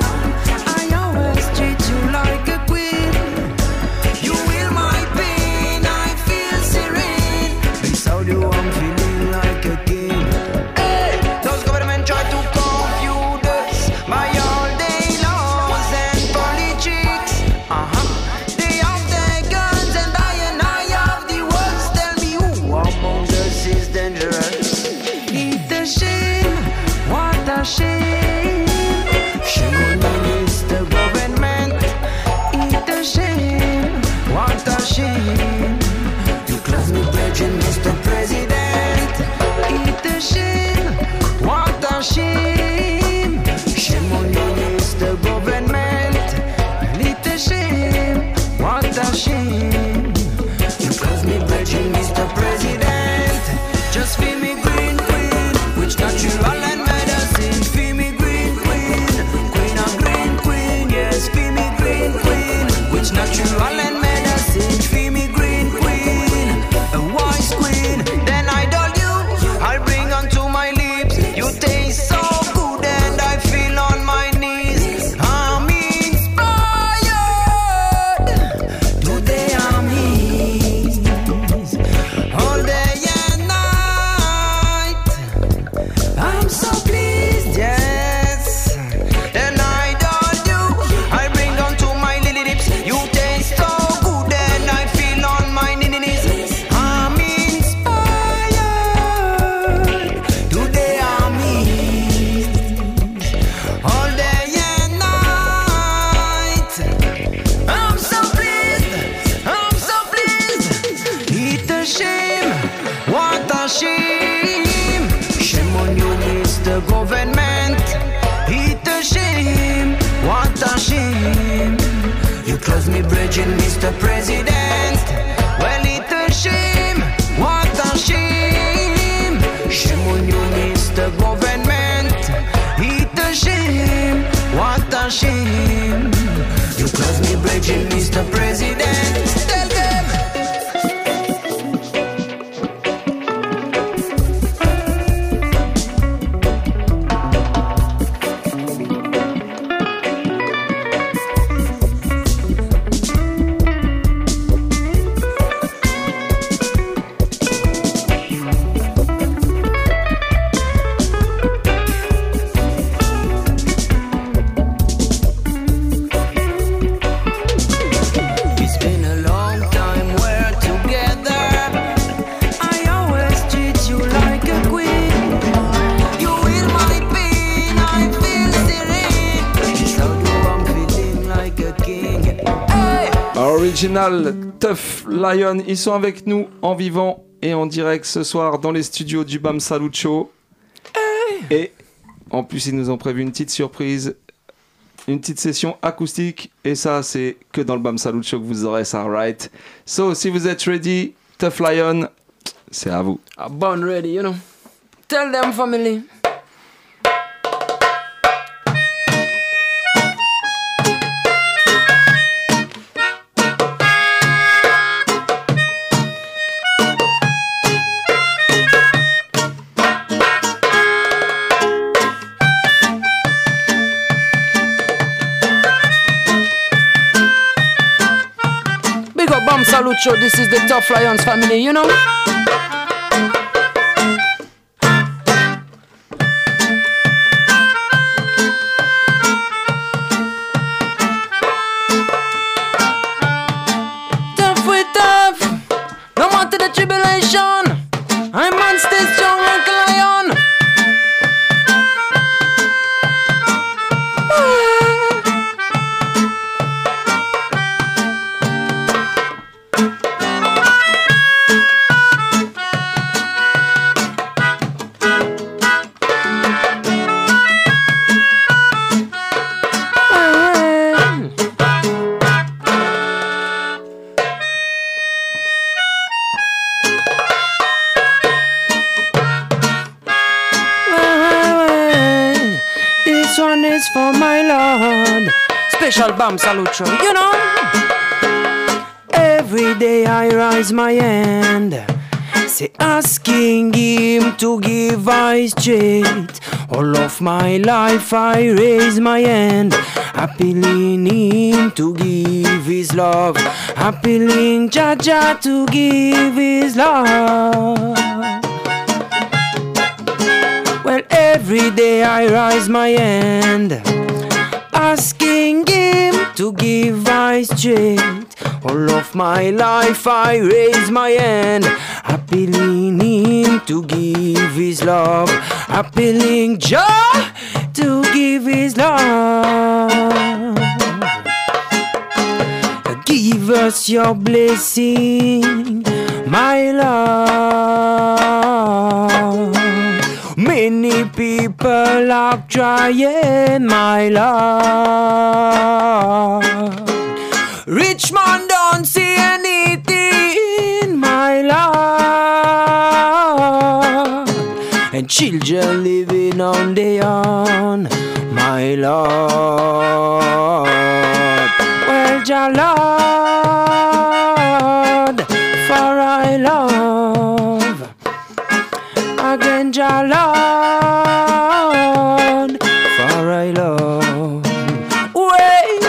I always treat you like a queen. You heal my pain, I feel serene. Beside you I'm feeling like a king. Hey, those government try to confuse us by all day laws and politics. They have their guns and I have the words. Tell me who among us is dangerous. It's a shame, what a shame. Shame on you, Mr. Government. It's a shame, what a shame. You close me bridging, Mr. President. It's a shame, what a shame. Shame on you, Mr. Government. It's a shame, what a shame. You close me bridging, Mr. President. Just feel me green queen, which natural and medicine. Feel me green queen, queen and green queen. Yes, feel me green queen, which natural and medicine. Feel me green queen, a wise queen. Then I doll you, I'll bring onto my lips. You taste so good and I feel on my knees. I'm inspired. Today I'm his. All day and night. I'm so pleased, yes. Then I doll you, I bring onto my little lips. You taste so good and I feel on my knees. I'm inspired. Today I'm his. All day and night. I'm so pleased, I'm so pleased. It's a shame, what a shame. Shame on you, Mr. Government. It's a shame, what a shame. You close me bridging, Mr. President. Well, it's a shame, what a shame. Shame on you, Mr. Government. It's a shame, what a shame. You close me bridging, Mr. President. Tell them. It's been a long time we're together. I always treat you like a queen. You heal my pain, I feel serene. So do I'm feeling like a king. Hey! Original Tough Lion, ils sont avec nous en vivant et en direct ce soir dans les studios du Bam Salut Show. Et en plus, ils nous ont prévu une petite surprise, une petite session acoustique. Et ça, c'est que dans le Bam Salut Show que vous aurez ça, right? So, si vous êtes ready, Tough Lion, c'est à vous. I'm born ready, you know. Tell them, family. Salucho, this is the Tough Lions family, you know. Tough with tough, no matter the tribulation, I man stay strong like a lion. This one is for my Lord. Special Bam Salucho, you know. Every day I rise my hand, say asking him to give eyes straight. All of my life I raise my hand, appealing him to give his love, appealing Jaja to give his love. Well, every day I rise my hand, asking him to give eyes straight. All of my life I raise my hand, appealing him to give his love, appealing Jah to give his love. Give us your blessing, my Lord. Many people are trying, my Lord. Rich man don't see anything, my Lord. And children living on their own, my Lord. Well, Jah Lord, for I love. Again, Jah Lord, for I love. Wait,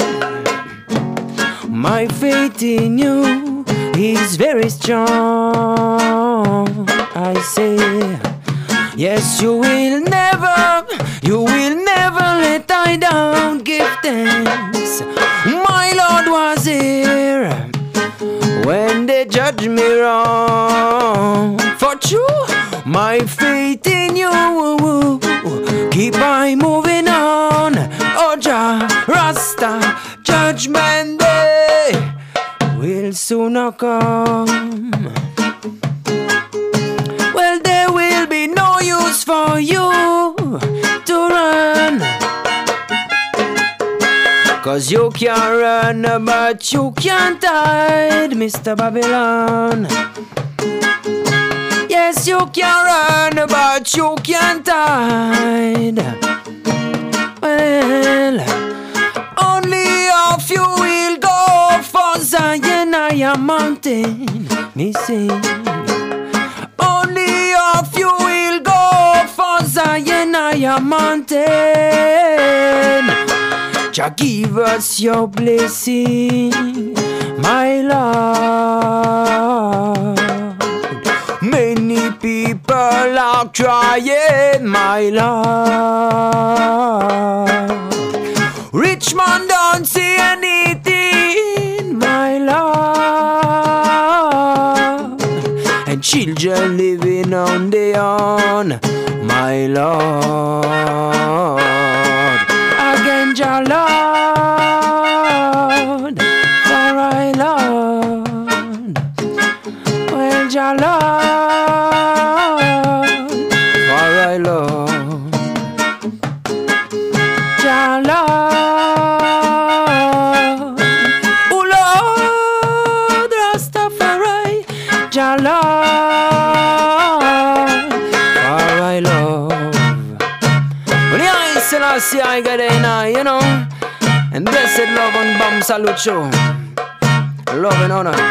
my faith in you is very strong. I say, yes, you will never let I down. Give thanks, my Lord was here when they judge me wrong. For true, my faith in you, keep I moving on. Oh Jah Rasta, judgment day will soon come. Well, there will be no use for you to run, 'cause you can run but you can't hide, Mr. Babylon. Yes, you can run but you can't hide. Well, only of you will go for Zion, I am mountain, me sing. Only of you will go for Zion, I am mountain. Jah give us your blessing, my Lord. Many people are crying, my Lord. Rich man don't see anything, my Lord. And children living on their own, my Lord. Again, Jah Lord, for I Lord. Well, Jah Lord, for I love. Jah Lord, oh Lord Rastafari, Jah Lord, for I love. Well, yeah, Selassie, I got it now, you know. And blessed love and Bam Salucho, love and honor.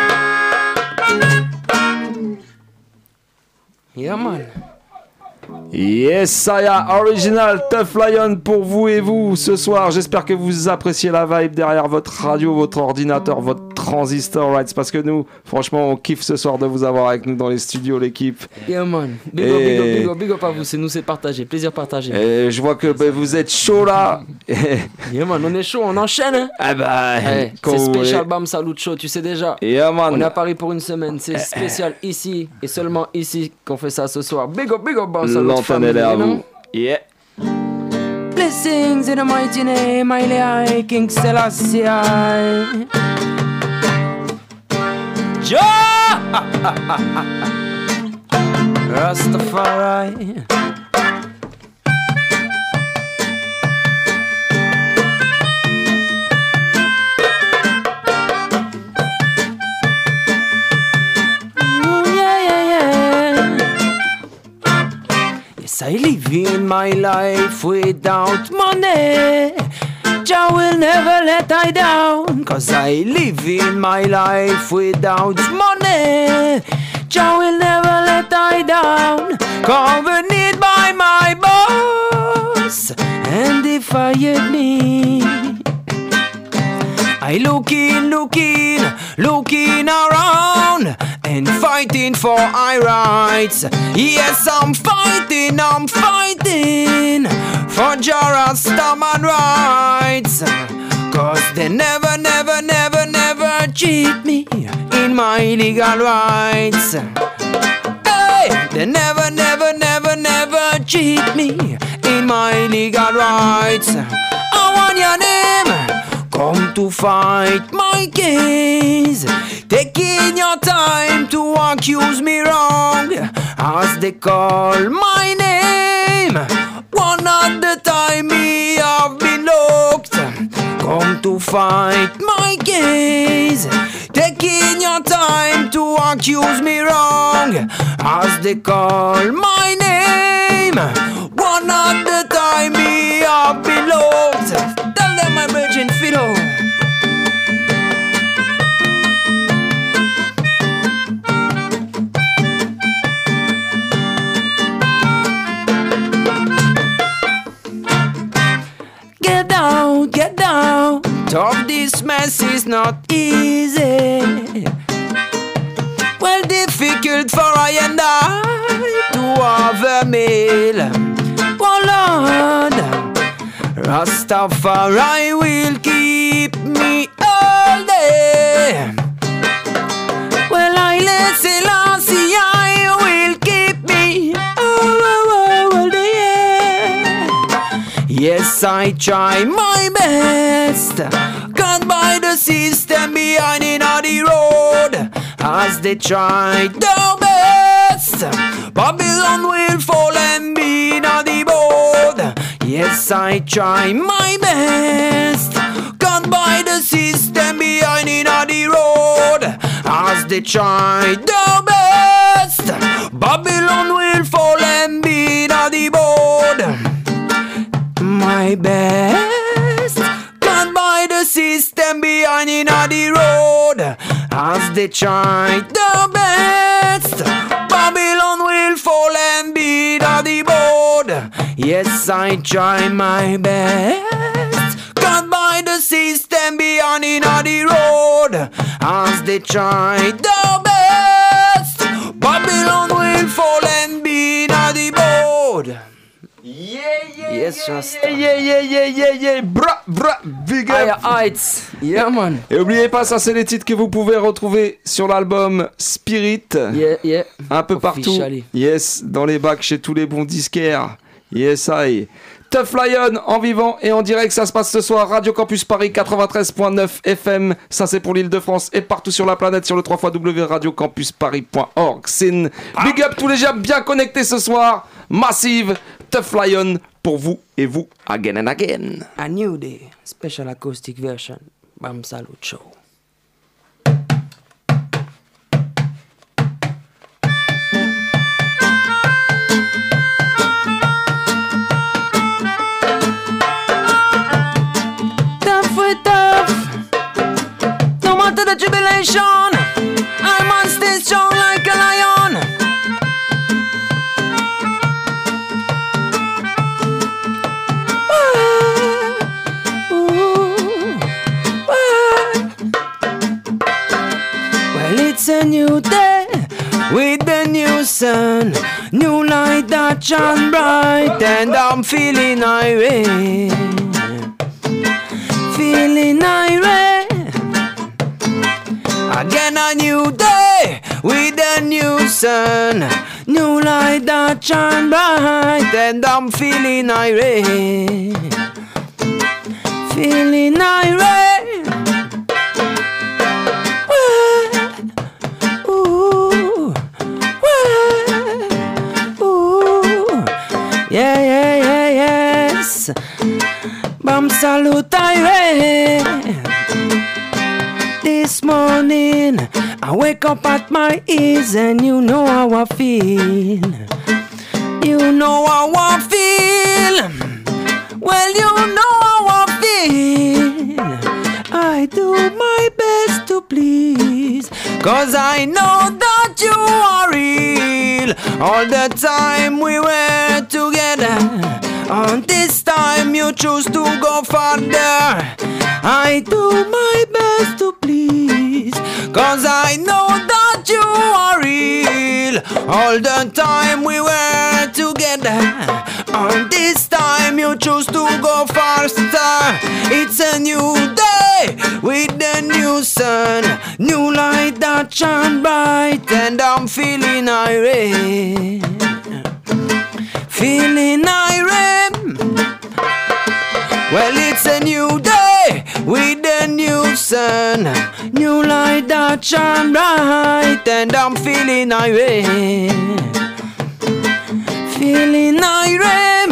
Yeah, man. Yes, Saya, original Tough Lion pour vous et vous ce soir. J'espère que vous appréciez la vibe derrière votre radio, votre ordinateur, votre Transistor Rights, parce que nous, franchement, on kiffe ce soir de vous avoir avec nous dans les studios, l'équipe. Yeah man, big up à vous, c'est nous, c'est partagé, plaisir partagé. Et je vois que vous êtes chaud là. Yeah man, on est chaud, on enchaîne hein. Ah bah, c'est spécial Bam Salut Show, tu sais déjà. Yeah man. On est à Paris pour une semaine, c'est spécial ici et seulement ici qu'on fait ça ce soir. Big up Bam Salut. L'antenne est à vous. Yeah. Blessings in the mighty name, I King Selassie. Jah Rastafari. I live in my life without money. Jah will never let I down. Cause I live in my life without money. Jah will never let I down. Covered by my boss. And if I me, I looking around and fighting for our rights. Yes, I'm fighting for Jah Rastaman rights. Cause they never cheat me in my legal rights. Hey, they never cheat me in my legal rights. I want your name. Come to fight my case, taking your time to accuse me wrong, as they call my name. One at the time me have been locked. Come to fight my case, taking your time to accuse me wrong, as they call my name. One at the time me have been locked. Tell them my virgin fiddle. Get down. Talk this mess is not easy. Well, difficult for I and I to have a meal. Oh Lord, Rastafari will keep me all day. Well, I Selassie, I will keep me all day. Yes, I try my best. Got by the system behind in the road, as they try their best. Babylon will fall and be in the board. Yes, I try my best. Got by the system behind in the road, as they try their best. Babylon will fall and be in the board. My best. Got by the system behind in the road, as they try their best. Babylon will fall and be in the board. Yes, I try my best. Got by the system behind in the road, as they try their best. Babylon will fall and be in the board. Yes, Rasta. Yeah. Bra, big up. Heights. Yeah, man. Et oubliez pas, ça c'est les titres que vous pouvez retrouver sur l'album Spirit. Yeah. Un peu partout. Yes, dans les bacs chez tous les bons disquaires. Yes, I. Tough Lion en vivant et en direct, ça se passe ce soir. Radio Campus Paris 93.9 FM. Ça c'est pour l'Île-de-France et partout sur la planète sur le www.radiocampusparis.org. Sin. Big up tous les gens bien connectés ce soir. Massive. Tough Lion pour vous et vous, again and again. A new day, special acoustic version, Bam Salut Show. Tough with tough, no matter the tribulation, I must stay strong like a lion. with the new sun, new light that shine bright, and I'm feeling irate, feeling irate. Again a new day with a new sun, new light that shine bright, and I'm feeling irate, feeling irate. Ooh, ooh, yeah, yeah, yeah, yes. Bam salute irate. This morning I wake up at my ease, and you know how I feel. You know how I feel. Well, you know how I feel. I do my best to please, 'cause I know that you are real. All the time we were together, and this time you choose to go further. I do my best to please, 'cause I know that you are real. All the time we were together, and this time you choose to go faster. It's a new day with the new sun, new light that shine bright, and I'm feeling irate, feeling irate. Well, it's a new day with the new sun, new light that shine bright, and I'm feeling irate, feeling irate.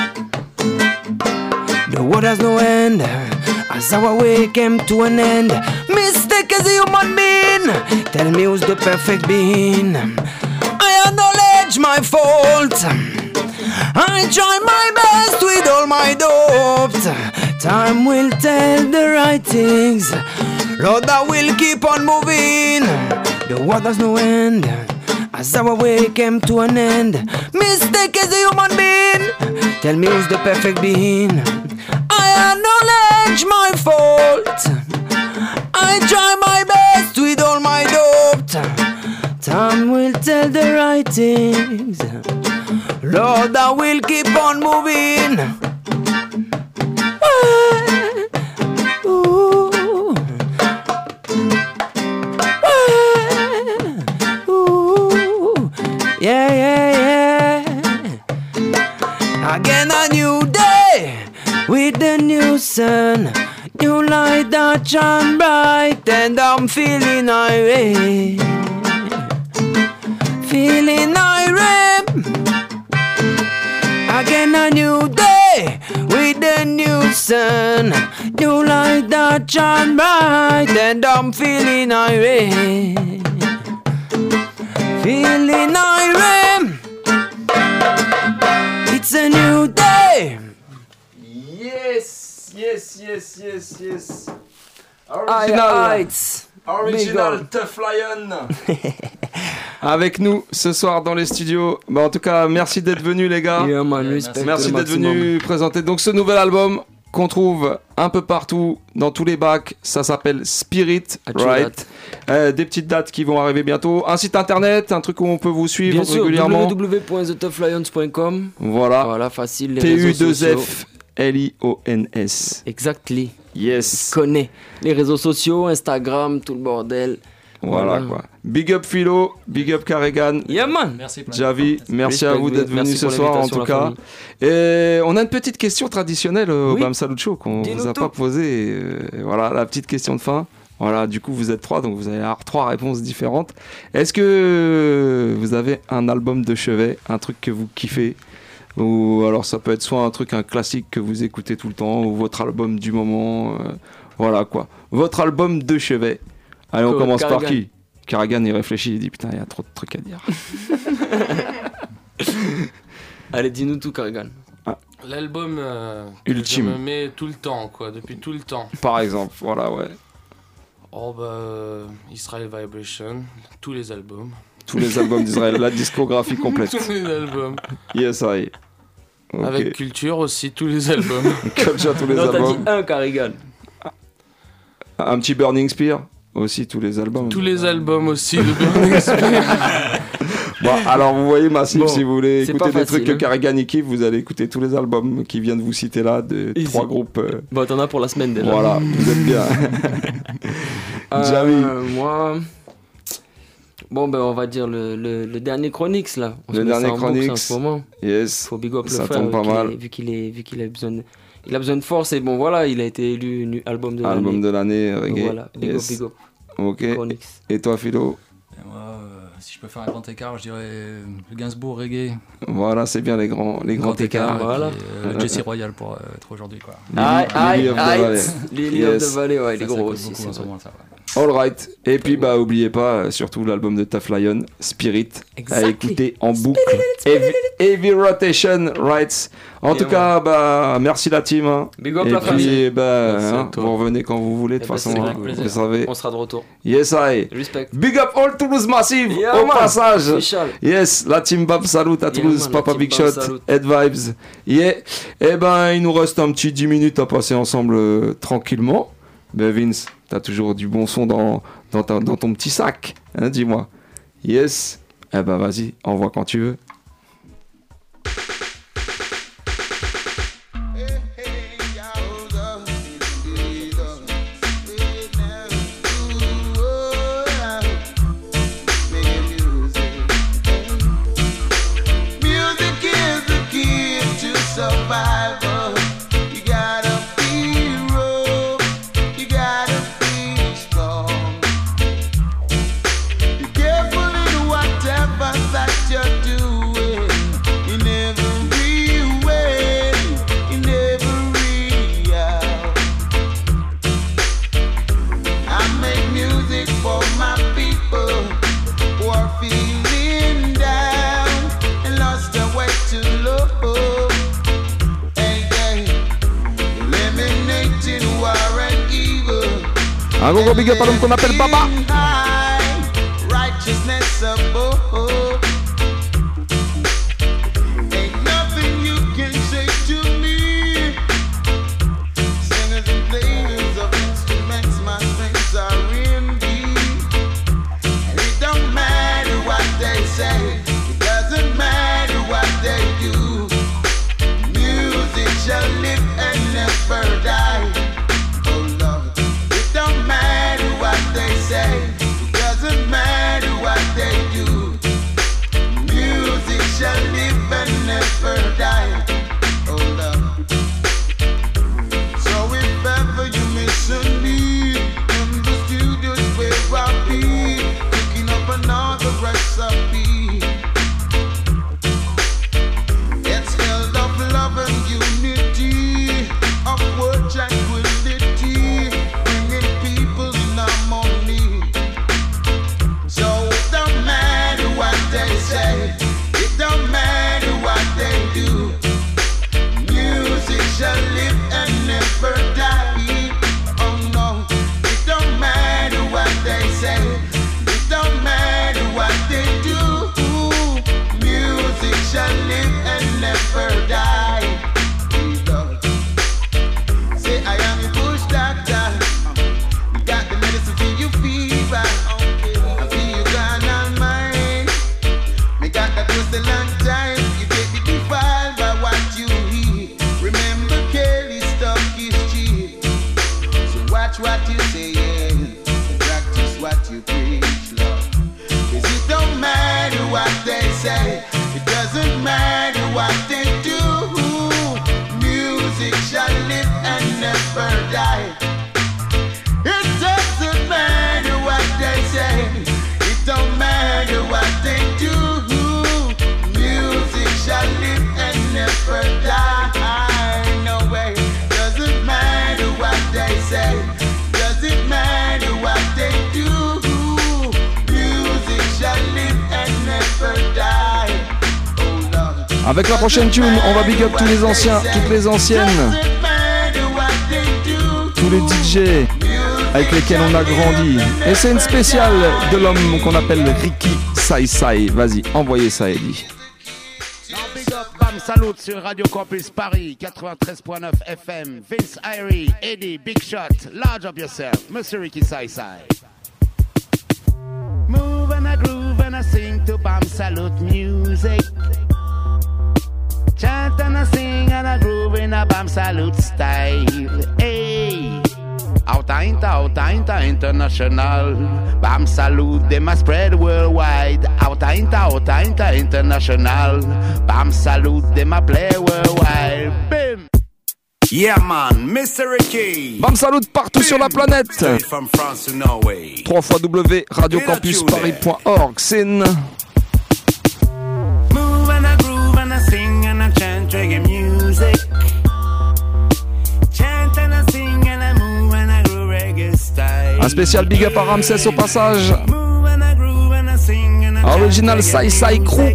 The world has no end, as our way came to an end. Mistake as a human being, tell me who's the perfect being. I acknowledge my fault, I try my best with all my doubts. Time will tell the right things, Lord, I will keep on moving. The world has no end, as our way came to an end. Mistake as a human being, tell me who's the perfect being. I acknowledge my fault, I try my best with all my doubts. Time will tell the right things, Lord, I will keep on moving. Ooh. Ooh. Yeah, yeah, yeah. Again a new day with the new sun, new light that shine bright, and I'm feeling irate, feeling irate. Again a new day with the new sun, new light that shine bright, and I'm feeling irate, feeling irate. It's a new day. Yes, yes, yes, yes, yes. Original Tough Lion. Avec nous ce soir dans les studios. Bah, en tout cas, merci d'être venus les gars. Yeah, man, merci d'être venus présenter donc ce nouvel album qu'on trouve un peu partout dans tous les bacs. Ça s'appelle Spirit, right? Des petites dates qui vont arriver bientôt. Un site internet, un truc où on peut vous suivre bien sûr, régulièrement. www.thetoughlions.com. Voilà. Facile. Les réseaux sociaux. TU2FLIONS. Exactly. Yes. Connais les réseaux sociaux, Instagram, tout le bordel. Voilà quoi. Big up Philo, big up Carrigan. Yeah man. Merci Javi, merci à vous d'être venus ce soir en tout cas. Et on a une petite question traditionnelle au Bam Salut Show qu'on vous a pas posée. Voilà la petite question de fin. Voilà, du coup vous êtes 3, donc vous allez avoir 3 réponses différentes. Est-ce que vous avez un album de chevet, un truc que vous kiffez? Ou alors ça peut être soit un classique que vous écoutez tout le temps, ou votre album du moment, voilà quoi. Votre album de chevet. Allez, on commence par qui? Carrigan, il réfléchit, il dit putain, il y a trop de trucs à dire. Allez, dis-nous tout, Carrigan. L'album ultime. Que je me mets tout le temps, quoi, depuis tout le temps. Par exemple, voilà, ouais. Oh Israel Vibration, tous les albums. Tous les albums d'Israël, la discographie complète. Tous les albums. Yes, I. Okay. Avec Culture aussi, tous les albums. Culture, tous les non, albums. Non, t'as dit un, Carrigan. Un petit Burning Spear, aussi tous les albums. Tous les albums aussi de Burning Spear. Bon, alors vous voyez Massive, si vous voulez écouter des trucs que hein. Carrigan kiffe, vous allez écouter tous les albums qui viennent de vous citer là, de 3 groupes. Bon, t'en as pour la semaine déjà. Voilà, vous êtes bien. Jamie. Moi... Bon, ben on va dire le dernier Chronix là. Le dernier Chronix. En ce moment. Yes. Faut big up le ça frère, tombe pas mal. Vu qu'il a besoin de force et bon voilà, il a été élu album de l'année. Album de l'année, reggae. Voilà, big up. Ok. Chronix. Et toi Philo? Et moi, si je peux faire un grand écart, je dirais le Gainsbourg reggae. Voilà, c'est bien les grands écarts. Voilà. Jesse Royal pour être aujourd'hui quoi. Lily of the Valley, ouais, il est gros aussi. Alright, et puis bah oubliez pas surtout l'album de Tough Lion, Spirit, à écouter en boucle. Heavy Rotation Rights. En tout cas, bah merci la team. Hein. Big up et la puis vous revenez quand vous voulez de toute façon. Vous savez. On sera de retour. Yes, I. Respect. Big up all Toulouse Massive au passage. Yes, la team Bab salut à Toulouse, Papa Big Shot, Head Vibes. Yeah. Et ben il nous reste un petit 10 minutes à passer ensemble tranquillement. Ben Vince, t'as toujours du bon son dans ton petit sac, hein, dis-moi. Yes. Eh ben vas-y, envoie quand tu veux. Un gros big up à l'homme qu'on appelle Baba. Avec la prochaine tune, on va big up tous les anciens, toutes les anciennes, tous les DJ avec lesquels on a grandi. Et c'est une spéciale de l'homme qu'on appelle Ricky Sai Sai. Vas-y, envoyez ça, Eddie. Big up, bam, salut sur Radio Campus Paris, 93.9 FM. Vince Irie, Eddie, Big Shot, large up yourself, Monsieur Ricky Sai Sai. Move and I groove and I sing to Bam Salute music. Chant and I sing and I groove in a Bam Salute style. Hey, outa international. Bam Salute, they must spread worldwide. Outa international. Bam Salute, they must play worldwide. Bim. Yeah man, Mr. Ricky. Bam Salute partout sur la planète. From France to Norway. www.radiocampusparis.org. Sin. Move and I groove and I sing and I chant reggae music. Chant and I sing and I move and I groove reggae style. Un spécial big up à Ramsès au passage. Original Sai Sai Crew.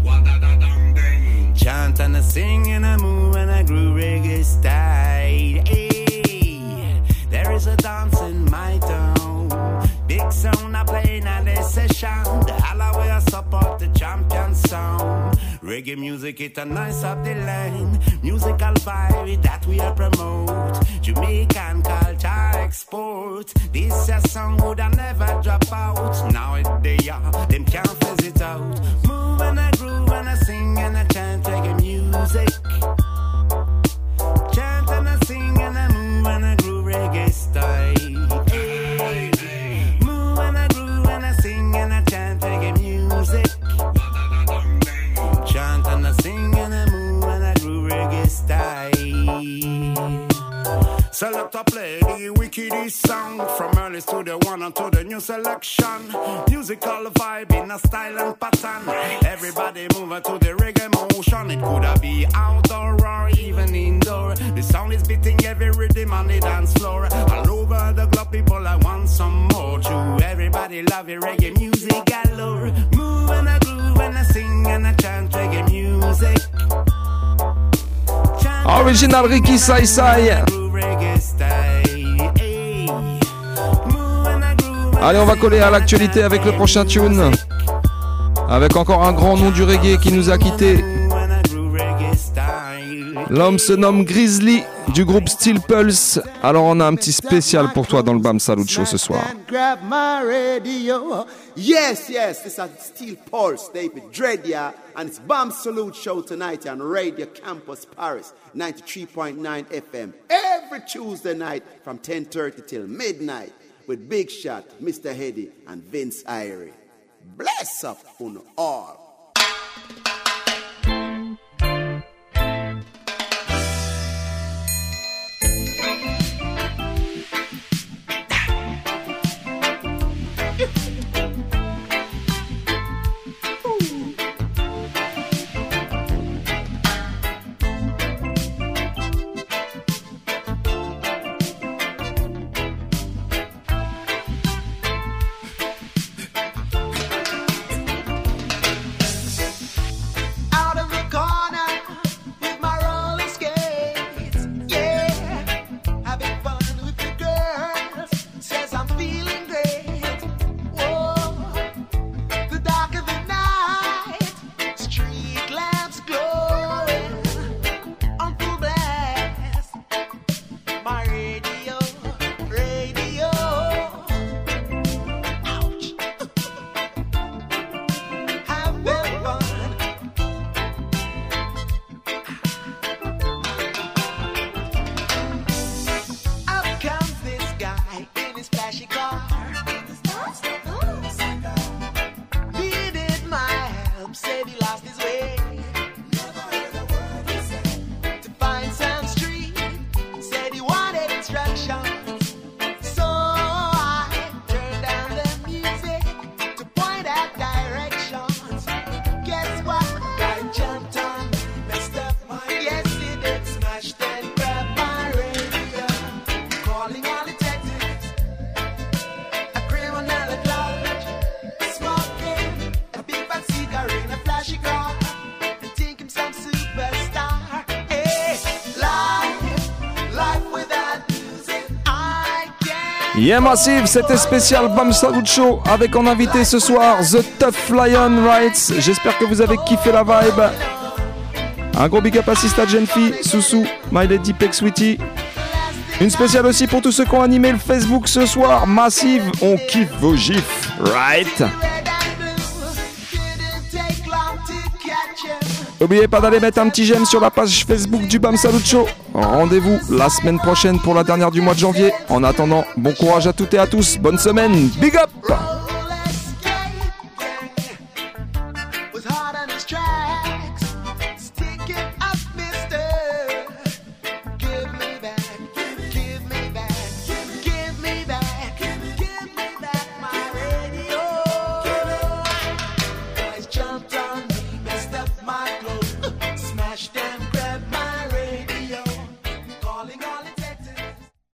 Chant and I sing and I move and I groove reggae style. Hey, there is a dance in my town. Big sound I play in this session. The Halloway I support the champion sound. Reggae music it a nice up the line. Musical vibe that we are promote. Jamaican culture export. This a song would I never drop out. Now it they are, them can't fizz it out. Move and I groove and I sing and I chant reggae music. Chant and I sing and I move and I groove reggae style. Hey. Move and I groove and I sing and I chant reggae music. Chant and I sing and I move and I groove reggae style. Select a play the wickedest song from early to the one until the new selection. Musical vibe in a style and pattern. Everybody moving to the reggae motion. It could be outdoor or even indoor. The sound is beating every rhythm on the dance floor. All over the globe, people I want some more. True, everybody love your reggae music galore. Move and I groove and I sing and I chant reggae music. Original Ricky Sai Sai. Allez, on va coller à l'actualité avec le prochain tune. Avec encore un grand nom du reggae qui nous a quittés. L'homme se nomme Grizzly du groupe Steel Pulse. Alors on a un petit spécial pour toi dans le Bam Salute Show ce soir. Grab my radio. Yes, this is Steel Pulse, David Dredia, and it's Bam Salute Show tonight on Radio Campus Paris, 93.9 FM, every Tuesday night from 10:30 till midnight with Big Shot, Mr. Heady, and Vince Irie. Bless up on all. Yeah Massive, c'était spécial Bam Salute Show avec en invité ce soir The Tough Lion Rights. J'espère que vous avez kiffé la vibe. Un gros big up à Sista Genfi, Soussou, My Lady Peck Sweetie. Une spéciale aussi pour tous ceux qui ont animé le Facebook ce soir. Massive, on kiffe vos gifs, right? N'oubliez pas d'aller mettre un petit j'aime sur la page Facebook du Bam Salut Show. Rendez-vous la semaine prochaine pour la dernière du mois de janvier. En attendant, bon courage à toutes et à tous. Bonne semaine. Big up!